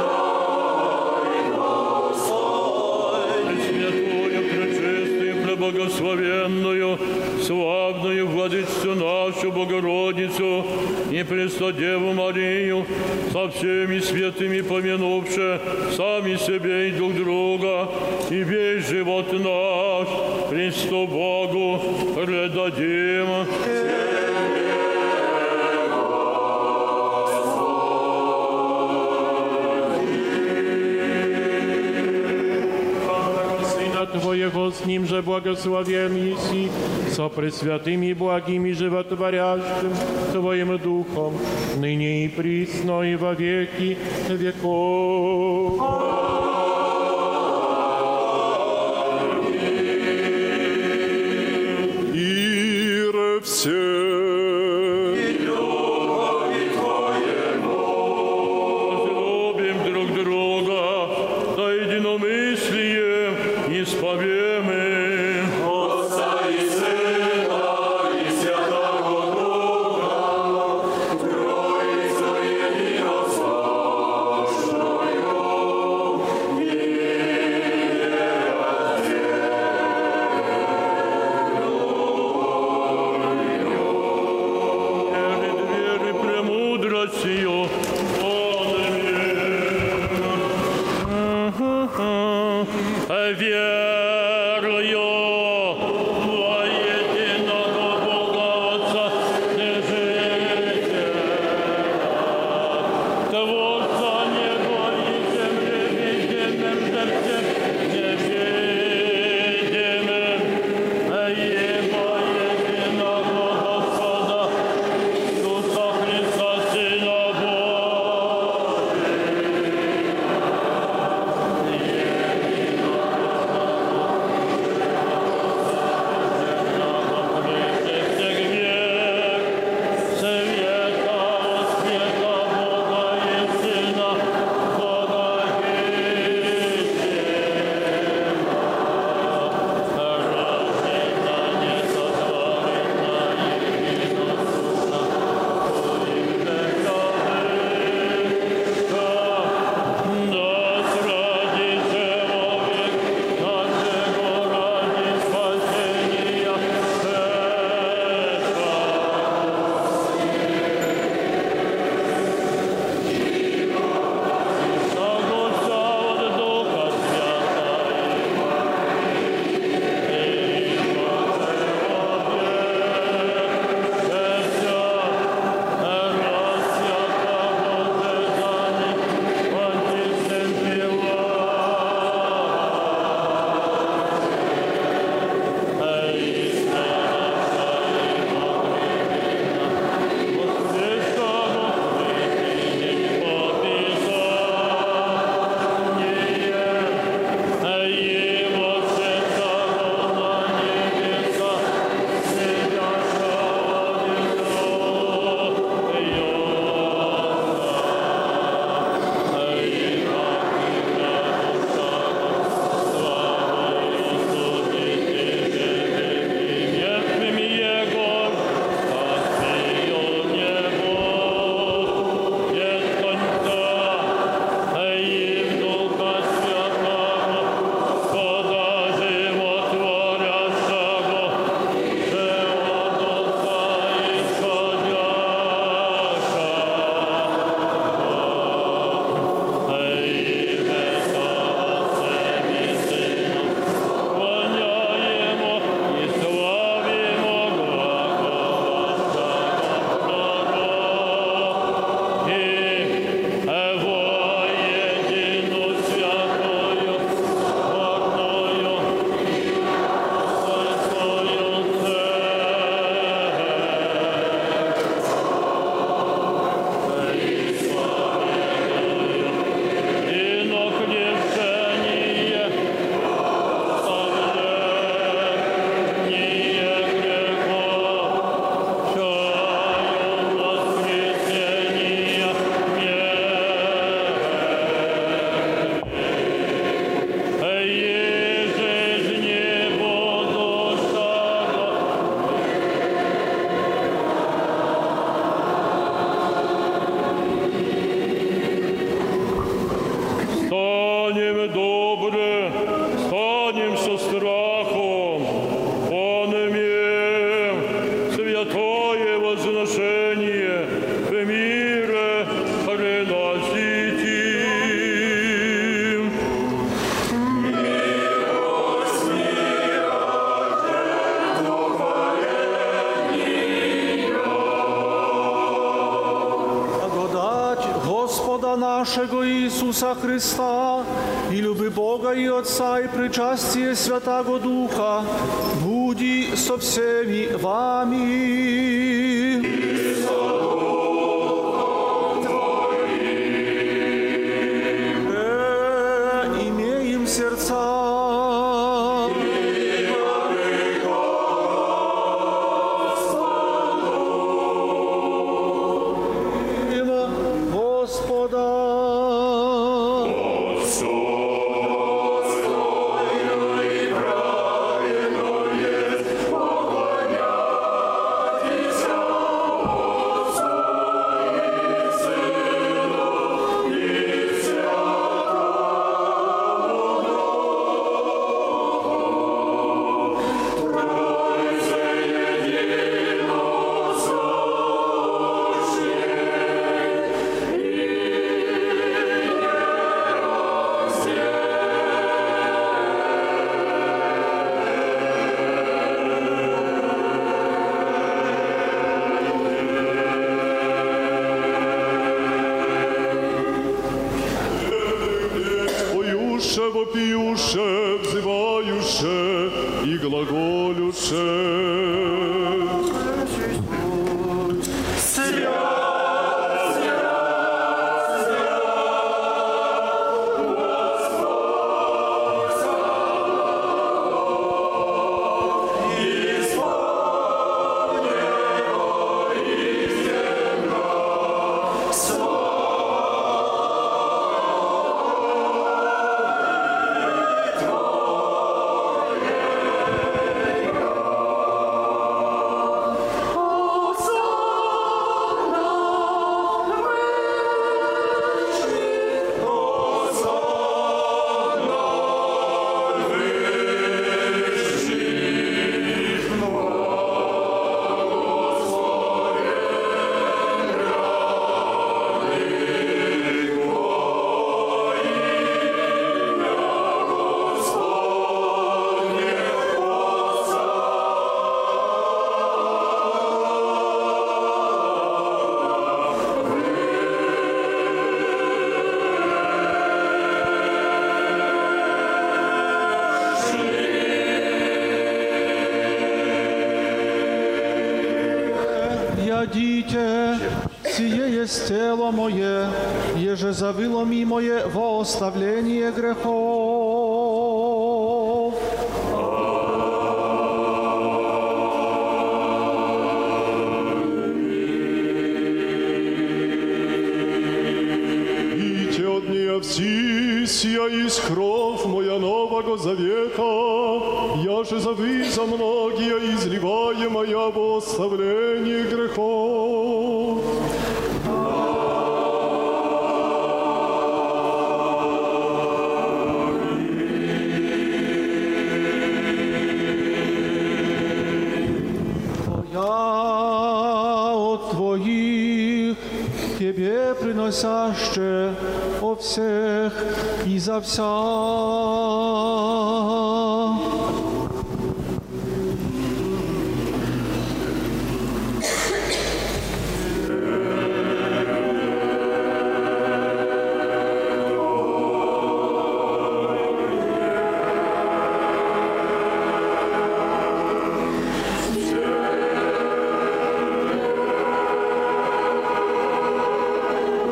Пресвятую, пречистую, преблагословенную, славную Владычицу нашу Богородицу и Преснодеву Марию, со всеми святыми помянувши сами себе и друг друга, и весь живот наш Христу Богу предадим. Твоего с Ним же благословен еси, со пресвятым и благим и животворящим Твоим Духом, ныне и присно и во веки веков. Ире все. naszego Isusa Chrysta i luby Boga i Otca i причастие Святаго Духа буди со всеми вами. Э, имеем сердца. Вопиюше, взываюше и глаголюше. Ядите, сие есть тело мое, еже завило ми мое во оставление грехов. Ите от нея все, сия есть кровь моя нового завета, я же за вы, за многие изливаемая во оставление грехов. Я от Твоих Тебе приносяще о всех и за вся.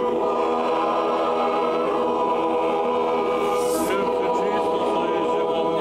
Чисто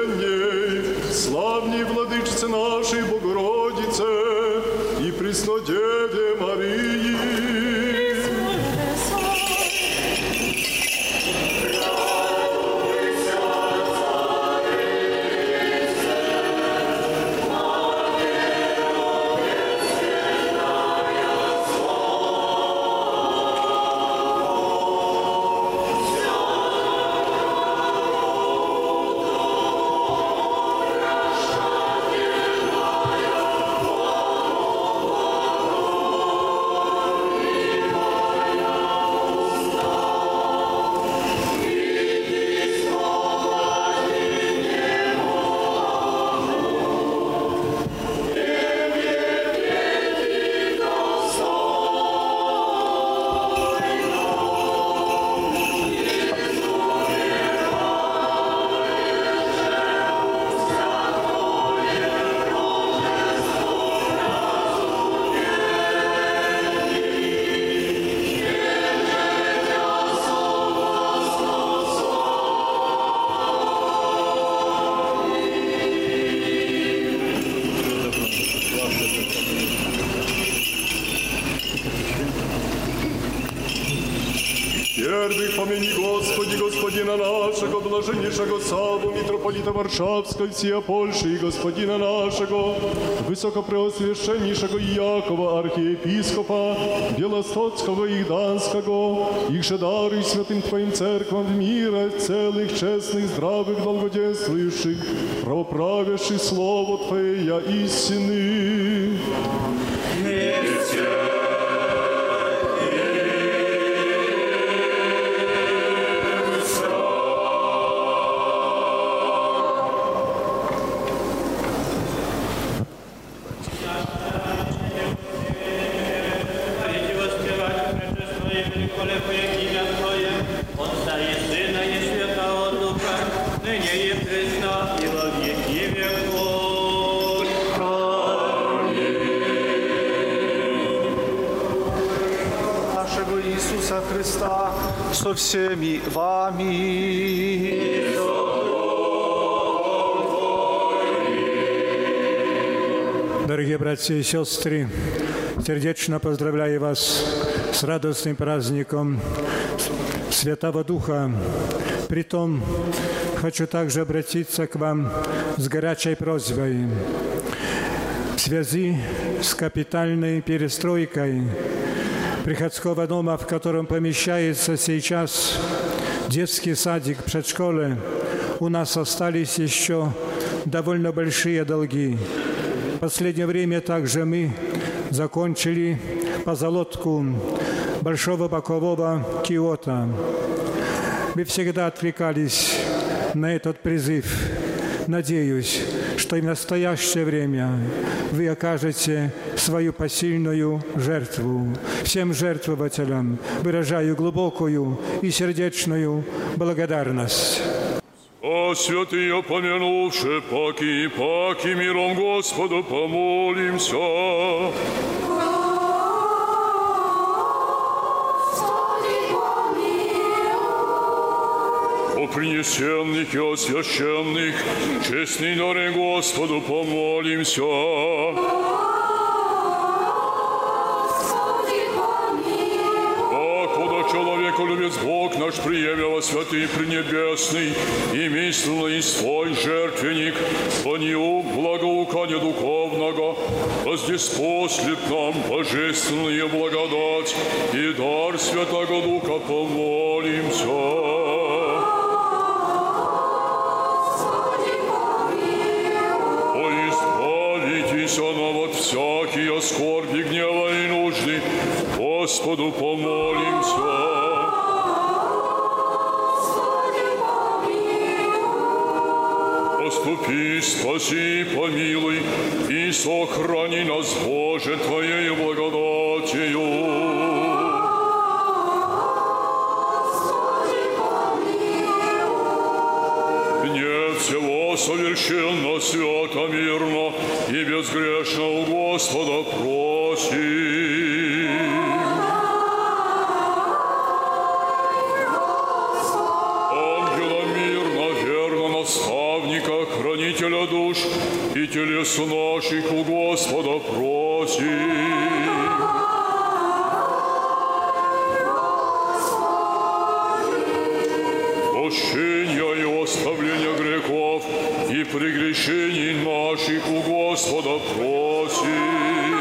преосвященней, славней владычице нашей Богородице и Преснодеве Марии. Первых помяни, Господи, Господина нашего, блаженнейшего Савву, митрополита Варшавской, всея Польши, и Господина нашего, высокопреосвященнейшего Иакова, архиепископа, Белостоцкого и Гданского, их же даруй святым Твоим церквам в мире, целых, честных, здравых, долгоденствующих, правоправящих Слово Твое, я истины. Иисуса Христа со всеми вами. Дорогие братья и сестры, сердечно поздравляю вас с радостным праздником Святого Духа. Притом хочу также обратиться к вам с горячей просьбой в связи с капитальной перестройкой приходского дома, в котором помещается сейчас детский садик, предшколе, у нас остались еще довольно большие долги. В последнее время также мы закончили позолотку большого бокового киота. Мы всегда откликались на этот призыв. Надеюсь, что и в настоящее время вы окажете свою посильную жертву. Всем жертвователям выражаю глубокую и сердечную благодарность. О святые помянувши, паки и паки, миром Господу помолимся. О принесенных и освященных, честный дары Господу помолимся. Человеку-любец Бог наш, приемлемо святый Пренебесный, и мисленно и свой жертвенник, по нему благоукание духовного, воздеспослит нам божественная благодать и дар Святого Духа, помолимся. О, избавитесь нам от всякие скорби, гнева и нужды, Господу помолимся. Поступи, спаси, помилуй и сохрани нас, Боже, Твоей благодатью. Дне всего совершенно, свято, мирно и безгрешно у Господа просим. Избавителя душ и телес наших у Господа просим. Прощения и оставления грехов и прегрешений наших у Господа просим.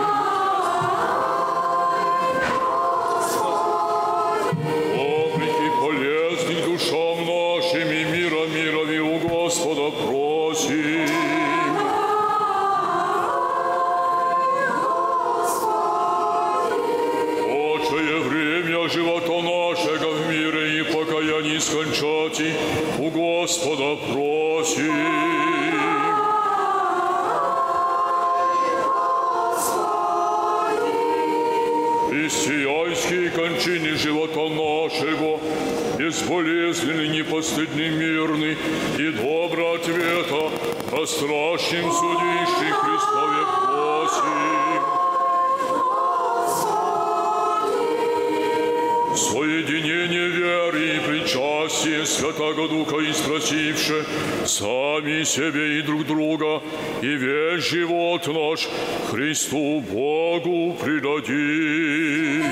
Обреки полезных душам нашим и мира мирови у Господа просим. Отчее время живота нашего в мире и покаянии скончати у Господа просим. Христианские кончины живота нашего, безболезненный, непостыдный, мирный и добрый ответа о страшном судище Христове просим. Соединение веры и причастие Святаго Духа и спросивши сами себе и друг друга, и весь живот наш Христу Богу предадим.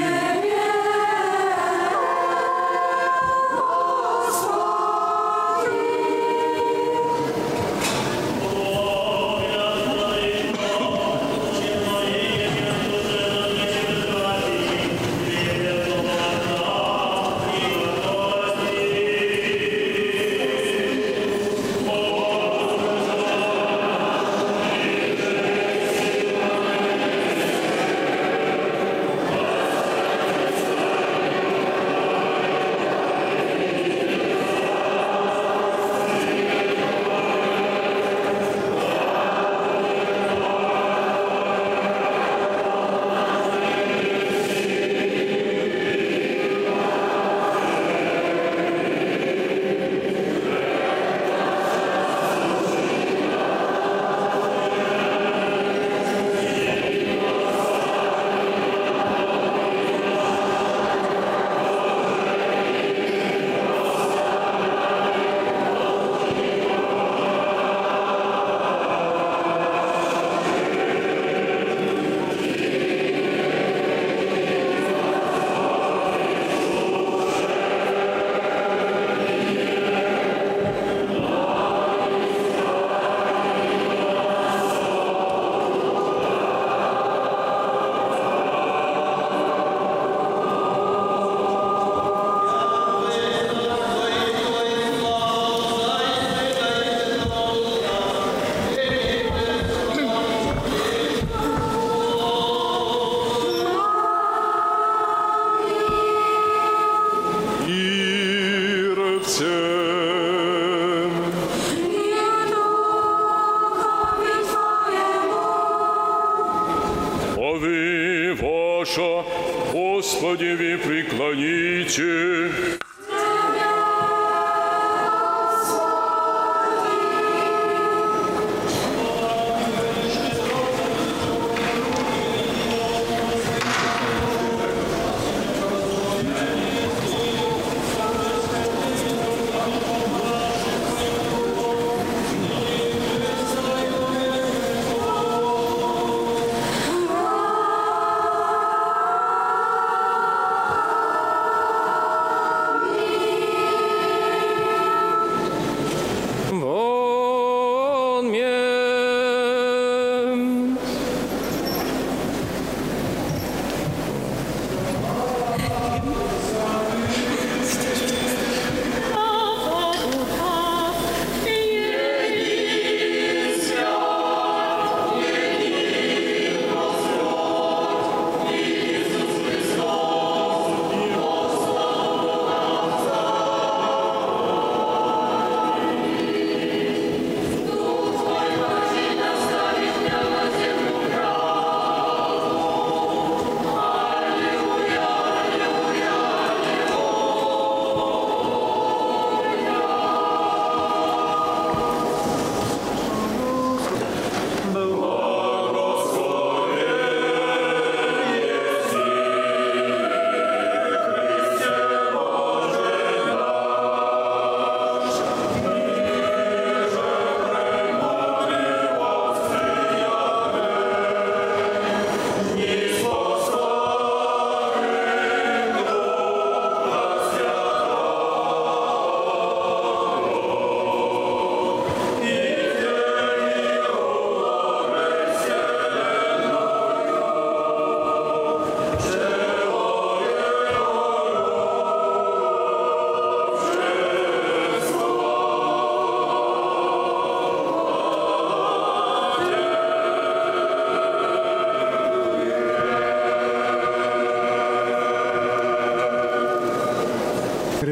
Господи, ви преклоните.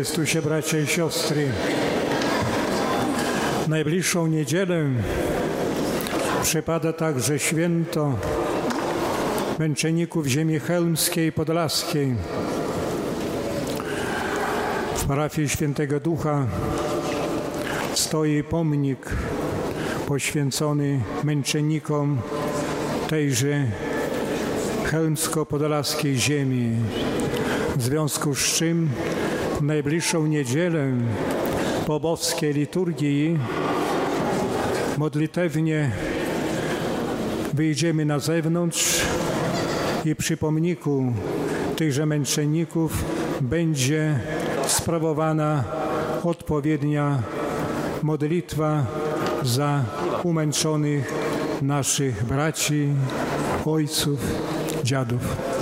Chrystusie, bracia i siostry, najbliższą niedzielę przypada także święto męczenników ziemi chełmskiej i podlaskiej. W parafii Świętego Ducha stoi pomnik poświęcony męczennikom tejże chełmsko-podlaskiej ziemi. W związku z czym w najbliższą niedzielę po boskiej liturgii modlitewnie wyjdziemy na zewnątrz i przy pomniku tychże męczenników będzie sprawowana odpowiednia modlitwa za umęczonych naszych braci, ojców, dziadów.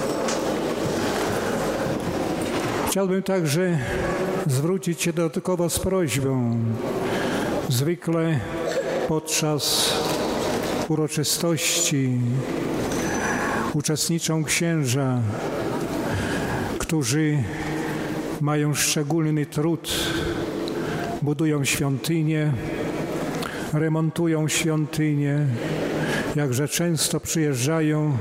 Chciałbym także zwrócić się dodatkowo z prośbą. Zwykle podczas uroczystości uczestniczą księża, którzy mają szczególny trud, budują świątynie, remontują świątynie, jakże często przyjeżdżają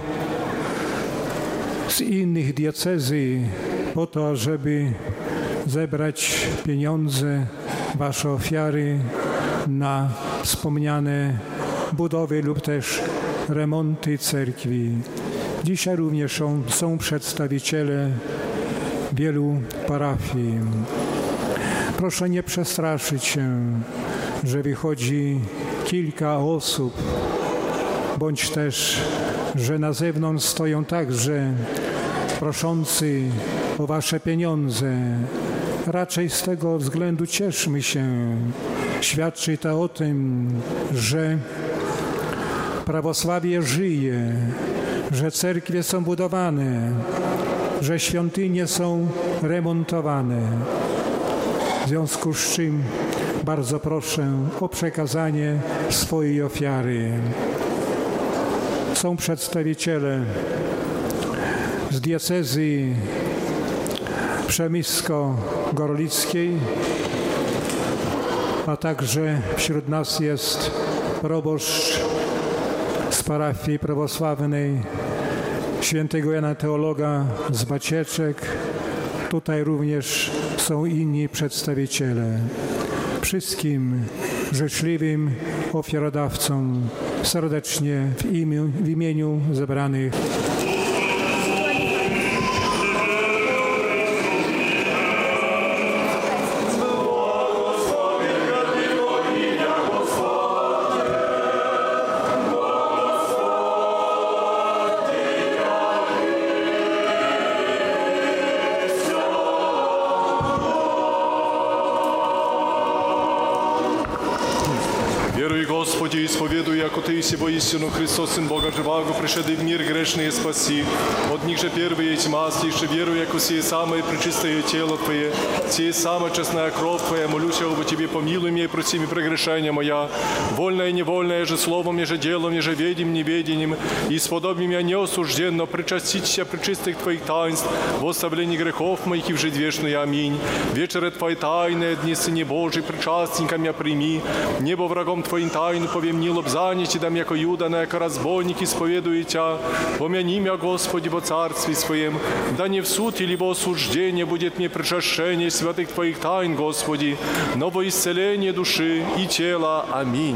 z innych diecezji po to, żeby zebrać pieniądze, wasze ofiary na wspomniane budowy lub też remonty cerkwi. Dzisiaj również są, są przedstawiciele wielu parafii. Proszę nie przestraszyć się, że wychodzi kilka osób, bądź też, że na zewnątrz stoją także proszący o wasze pieniądze. Raczej z tego względu cieszmy się. Świadczy to o tym, że prawosławie żyje, że cerkwie są budowane, że świątynie są remontowane. W związku z czym bardzo proszę o przekazanie swojej ofiary. Są przedstawiciele z diecezji przemysko-gorlickiej, a także wśród nas jest proboszcz z parafii prawosławnej świętego Jana Teologa z Bacieczek. Tutaj również są inni przedstawiciele. Wszystkim życzliwym ofiarodawcom serdecznie w imieniu, w imieniu zebranych Господи, исповедуй, яко Ты есть воистину Христос, Сын Бога Живаго, пришедший в мир грешный спаси. От них же первые тьма, слишь веру, яко сие самое пречистое тело Твое, сие самая честная кровь Твоя, молюсь об Тебе, помилуй меня и прости мне прегрешения моя, вольное и невольное же словом, еже делом, еже ведим, неведением, и сподоби меня неосужденно причаститься пречистых Твоих таинств, в оставлении грехов моих и в жизнь вечную. Аминь. Вечеры Твои тайные, дни Сыне Божий, причастника меня прими, небо врагом Твоим тайну повем не лобзаните, дам яко Юда, на яко разбойник исповедует Тя. Помяни меня, Господи, во Царстве Своем, да не в суд или во осуждение будет мне причащение святых Твоих тайн, Господи, но во исцеление души и тела. Аминь.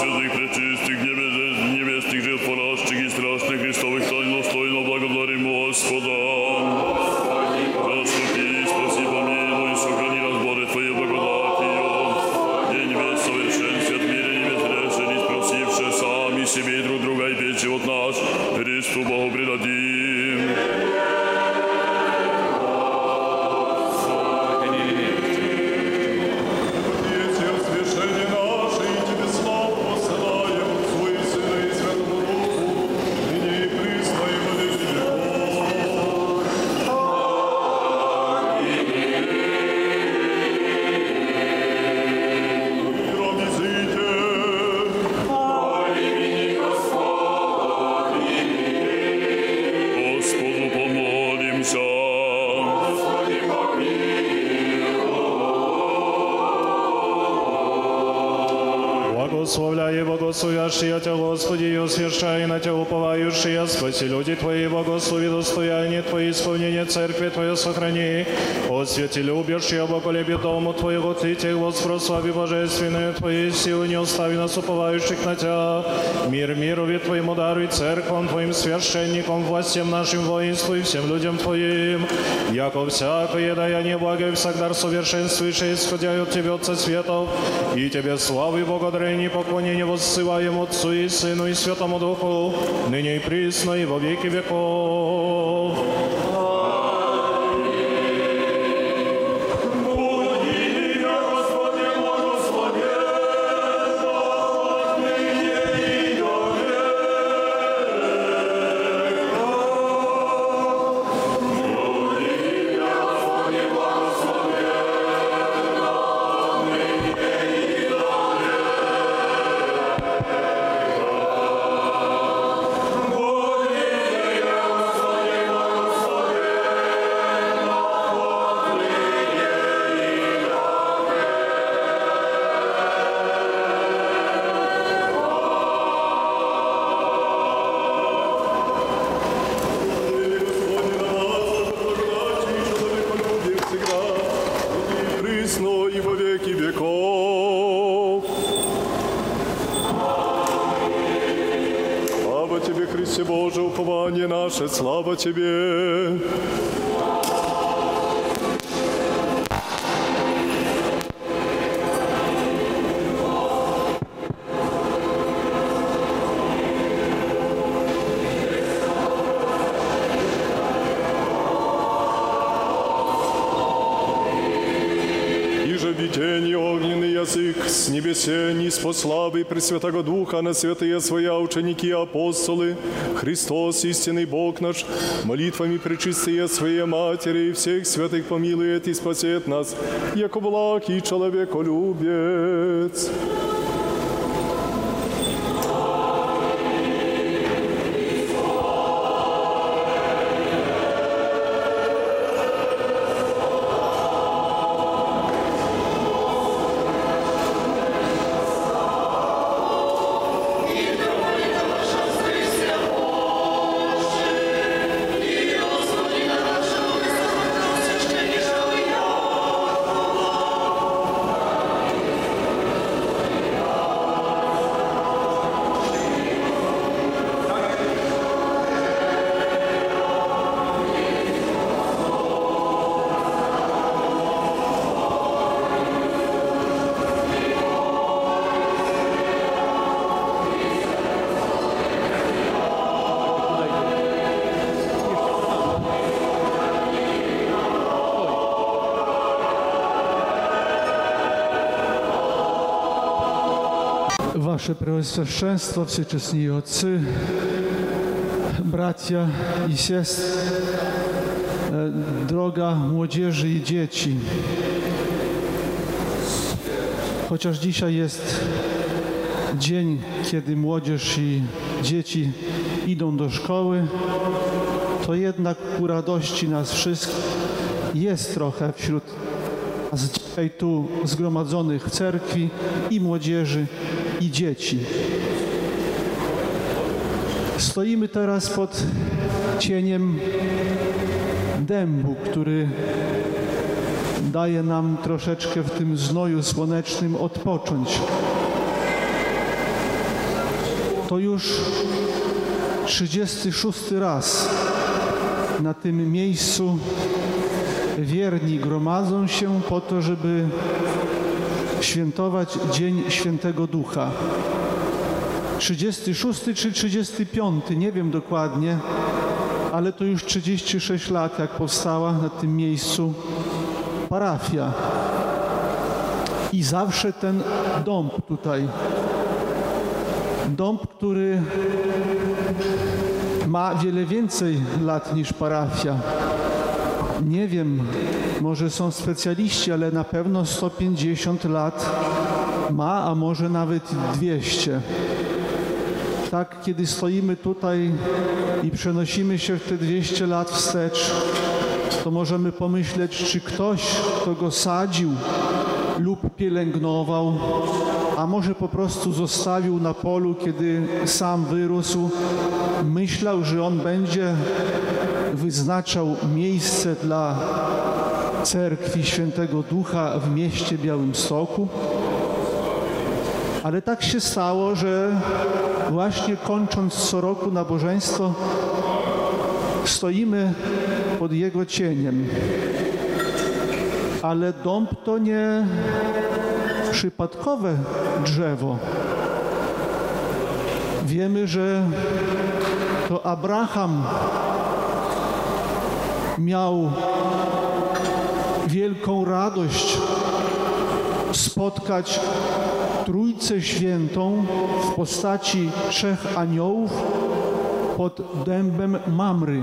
святых, пречистых, небес, небесных, животворящих и страшных Христовых тайн достойно благодарим Господа. Заступи, спаси, помилуй, сохрани разборы Твоей благодатью. День весь совершенстве от мира не безгрешен, спросивши сами себе и друг друга, и петь живот наш Христу Богу предадим. Благословляй, благословящие Тебя, Господи, и освящай на Тебя уповающие, спаси люди Твои, благослови достояние Твои, исполнение Церкви Твоей сохрани, освети любящие, благолепие Дому Твоего, Ты Тех воспрослави божественные Твои силы, не остави нас уповающих на Тебя, мир мирови Твоему даруй, церквам Твоим священникам, властям нашим воинству и всем людям Твоим, яко всякое даяние благое всегда совершенствующее, исходя от Тебя, Отца светов, и Тебе славы и благодарение, поклонение воссылаем Отцу и Сыну и Святому Духу, ныне и присно и во веки веков. Слава Тебе! Видение огненный язык с небесени, с славы Пресвятого Духа на святые Своя ученики и апостолы, Христос, истинный Бог наш, молитвами пречистые Своей Матери и всех святых помилует и спасет нас, яко благ и человеколюбец. Wasze Preoswященstwo, Wszechczesni Otcy, bracia i siostry, droga młodzieży i dzieci. Chociaż dzisiaj jest dzień, kiedy młodzież i dzieci idą do szkoły, to jednak ku radości nas wszystkich jest trochę wśród nas dzisiaj tu zgromadzonych w cerkwi i młodzieży, i dzieci. Stoimy teraz pod cieniem dębu, który daje nam troszeczkę w tym znoju słonecznym odpocząć. To już trzydziesty szósty raz na tym miejscu wierni gromadzą się po to, żeby świętować Dzień Świętego Ducha. trzydziesty szósty czy trzydziesty piąty, nie wiem dokładnie, ale to już trzydzieści sześć lat, jak powstała na tym miejscu parafia. I zawsze ten dąb tutaj, dąb, który ma wiele więcej lat niż parafia. Nie wiem, może są specjaliści, ale na pewno sto pięćdziesiąt lat ma, a może nawet dwieście. Tak, kiedy stoimy tutaj i przenosimy się w te dwieście lat wstecz, to możemy pomyśleć, czy ktoś, kto go sadził lub pielęgnował, a może po prostu zostawił na polu, kiedy sam wyrósł, myślał, że on będzie wyznaczał miejsce dla cerkwi Świętego Ducha w mieście Białymstoku. Ale tak się stało, że właśnie kończąc co roku nabożeństwo, stoimy pod jego cieniem. Ale dąb to nie przypadkowe drzewo. Wiemy, że to Abraham miał wielką radość spotkać Trójcę Świętą w postaci trzech aniołów pod dębem Mamry.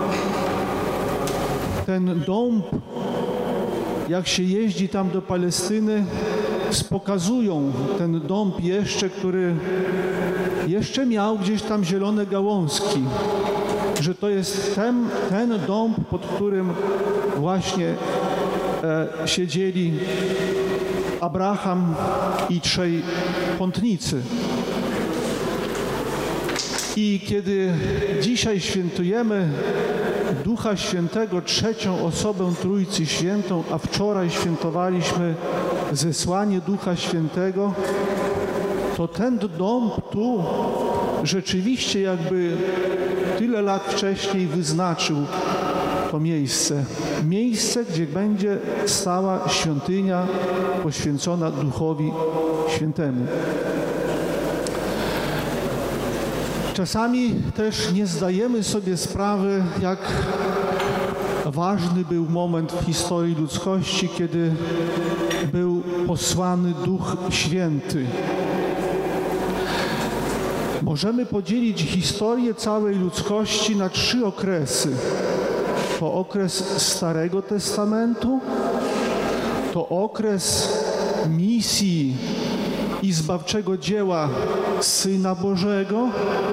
Ten dąb, jak się jeździ tam do Palestyny, pokazują ten dąb jeszcze, który jeszcze miał gdzieś tam zielone gałązki, że to jest ten, ten dąb, pod którym właśnie e, siedzieli Abraham i trzej pątnicy. I kiedy dzisiaj świętujemy Ducha Świętego, trzecią osobę Trójcy Świętą, a wczoraj świętowaliśmy zesłanie Ducha Świętego, to ten dąb tu rzeczywiście jakby tyle lat wcześniej wyznaczył to miejsce. Miejsce, gdzie będzie stała świątynia poświęcona Duchowi Świętemu. Czasami też nie zdajemy sobie sprawy, jak ważny był moment w historii ludzkości, kiedy był posłany Duch Święty. Możemy podzielić historię całej ludzkości na trzy okresy. To okres Starego Testamentu, to okres misji i zbawczego dzieła Syna Bożego,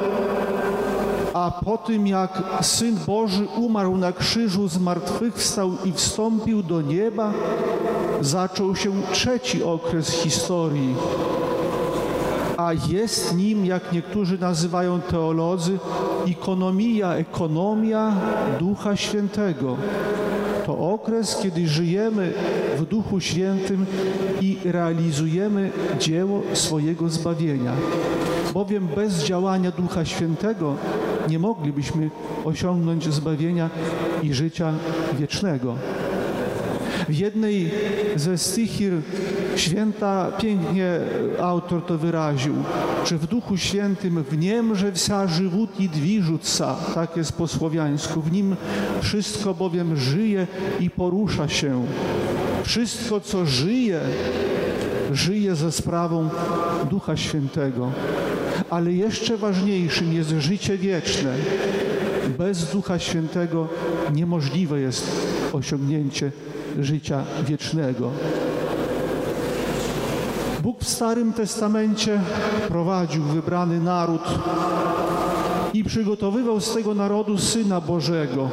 a po tym jak Syn Boży umarł na krzyżu, zmartwychwstał i wstąpił do nieba, zaczął się trzeci okres historii. A jest nim, jak niektórzy nazywają teolodzy, ikonomia, ekonomia Ducha Świętego. To okres, kiedy żyjemy w Duchu Świętym i realizujemy dzieło swojego zbawienia. Bowiem bez działania Ducha Świętego nie moglibyśmy osiągnąć zbawienia i życia wiecznego. W jednej ze stychir święta pięknie autor to wyraził, że w Duchu Świętym w niem, że wся żywot i dwiżutca, tak jest po słowiańsku, w nim wszystko bowiem żyje i porusza się. Wszystko, co żyje, żyje ze sprawą Ducha Świętego. Ale jeszcze ważniejszym jest życie wieczne. Bez Ducha Świętego niemożliwe jest osiągnięcie życia wiecznego. Bóg w Starym Testamencie prowadził wybrany naród i przygotowywał z tego narodu Syna Bożego.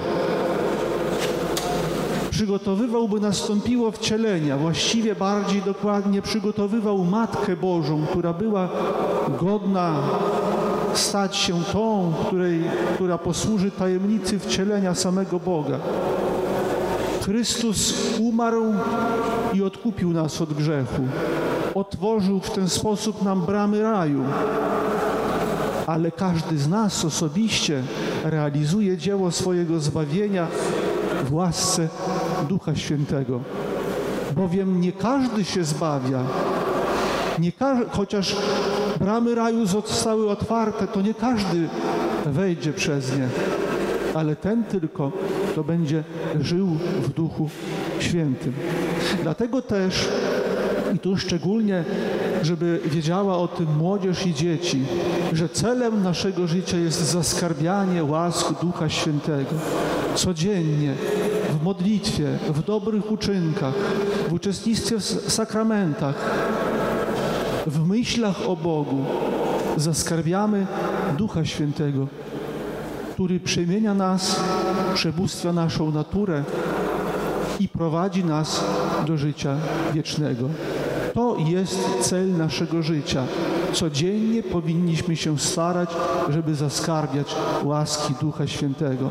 Przygotowywał, by nastąpiło wcielenie, a właściwie bardziej dokładnie przygotowywał Matkę Bożą, która była godna stać się tą, której, która posłuży tajemnicy wcielenia samego Boga. Chrystus umarł i odkupił nas od grzechu. Otworzył w ten sposób nam bramy raju. ale każdy z nas osobiście realizuje dzieło swojego zbawienia w łasce Ducha Świętego. Bowiem nie każdy się zbawia, nie ka- chociaż bramy raju zostały otwarte, to nie każdy wejdzie przez nie, ale ten tylko, kto będzie żył w Duchu Świętym. Dlatego też, i tu szczególnie, żeby wiedziała o tym młodzież i dzieci, że celem naszego życia jest zaskarbianie łask Ducha Świętego. Codziennie, w modlitwie, w dobrych uczynkach, w uczestnictwie w sakramentach, w myślach o Bogu zaskarbiamy Ducha Świętego, który przemienia nas, przebóstwia naszą naturę i prowadzi nas do życia wiecznego. To jest cel naszego życia. Codziennie powinniśmy się starać, żeby zaskarbiać łaski Ducha Świętego.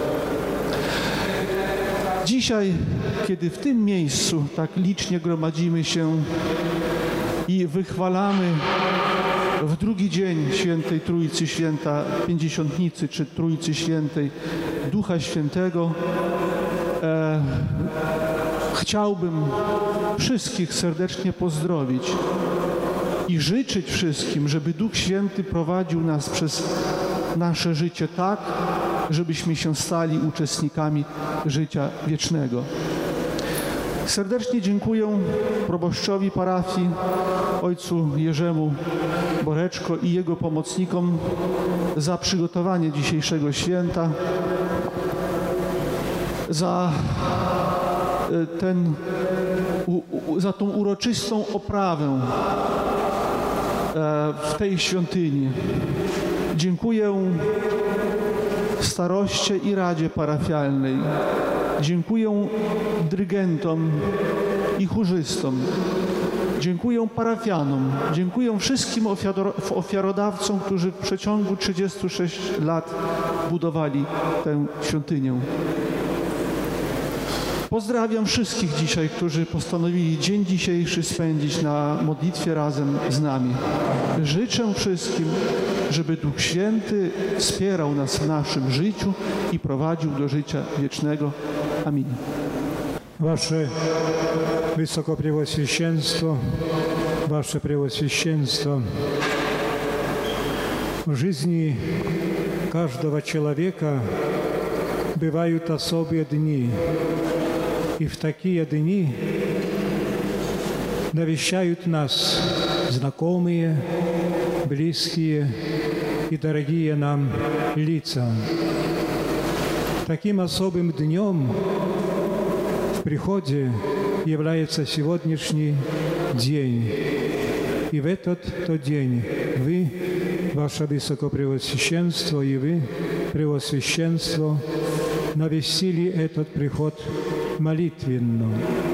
Dzisiaj, kiedy w tym miejscu tak licznie gromadzimy się i wychwalamy w drugi dzień Świętej Trójcy, Święta Pięćdziesiątnicy czy Trójcy Świętej Ducha Świętego, e, chciałbym wszystkich serdecznie pozdrowić i życzyć wszystkim, żeby Duch Święty prowadził nas przez nasze życie tak, żebyśmy się stali uczestnikami życia wiecznego. Serdecznie dziękuję proboszczowi parafii, ojcu Jerzemu Boreczko i jego pomocnikom za przygotowanie dzisiejszego święta, za ten, za tą uroczystą oprawę w tej świątyni. Dziękuję staroście i radzie parafialnej. Dziękuję dyrygentom i chórzystom. Dziękuję parafianom. Dziękuję wszystkim ofiarodawcom, którzy w przeciągu trzydziestu sześciu lat budowali tę świątynię. Pozdrawiam wszystkich dzisiaj, którzy postanowili dzień dzisiejszy spędzić na modlitwie razem z nami. Życzę wszystkim, żeby Duch Święty wspierał nas w naszym życiu i prowadził do życia wiecznego. Amin. Wasze Wysokopреосвященство, Wasze Преосвященство, в жизни каждого человека бывают особые дни. И в такие дни навещают нас знакомые, близкие и дорогие нам лица. Таким особым днем в приходе является сегодняшний день. И в этот-то день вы, Ваше Высокопреосвященство, и вы, Преосвященство, навестили этот приход молитвенно.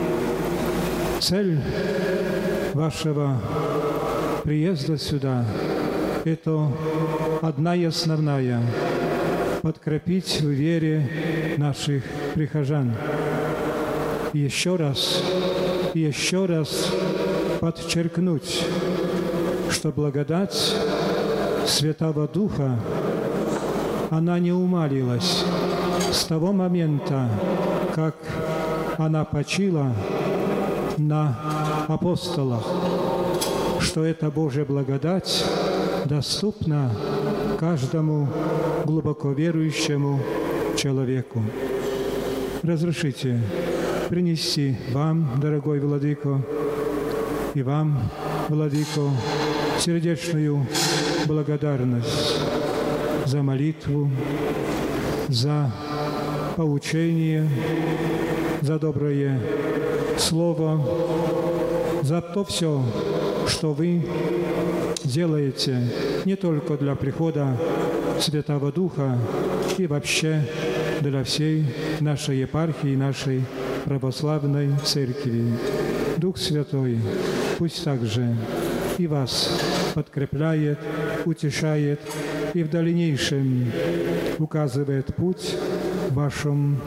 Цель вашего приезда сюда – это одна и основная – подкрепить в вере наших прихожан. И еще раз, и еще раз подчеркнуть, что благодать Святого Духа, она не умалилась с того момента, как она почила на апостолах, что эта Божья благодать доступна каждому глубоко верующему человеку. Разрешите принести вам, дорогой Владыко, и вам, Владыко, сердечную благодарность за молитву, за поучение, за доброе слово, за то все, что вы делаете не только для прихода Святого Духа и вообще для всей нашей епархии, нашей православной церкви. Дух Святой пусть также и вас подкрепляет, утешает и в дальнейшем указывает путь в вашем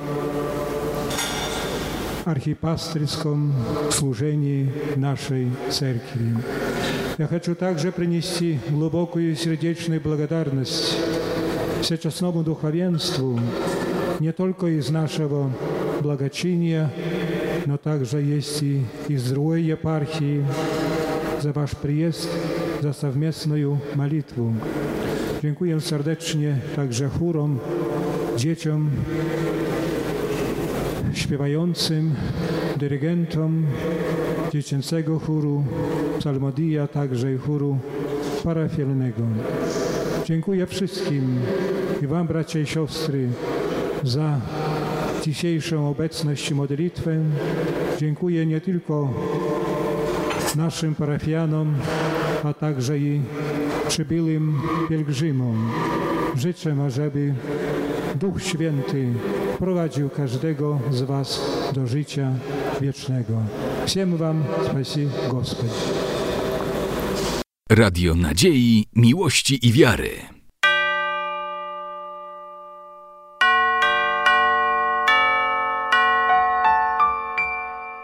архипастырском служении нашей церкви. Я хочу также принести глубокую сердечную благодарность всечестному духовенству не только из нашего благочиния, но также есть и из другой епархии za Wasz przyjazd, za совместную молитву. Dziękuję serdecznie także chórom, dzieciom, śpiewającym, dyrygentom dziecięcego chóru Psalmodia, także i chóru parafialnego. Dziękuję wszystkim i Wam, bracia i siostry, za dzisiejszą obecność i modlitwę. Dziękuję nie tylko naszym parafianom, a także i przybyłym pielgrzymom. Życzę, ażeby Duch Święty prowadził każdego z Was do życia wiecznego. Всем Wam spasi Господь. Radio Nadziei, Miłości i Wiary.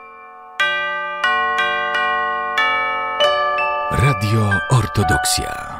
Radio Ortodoksja.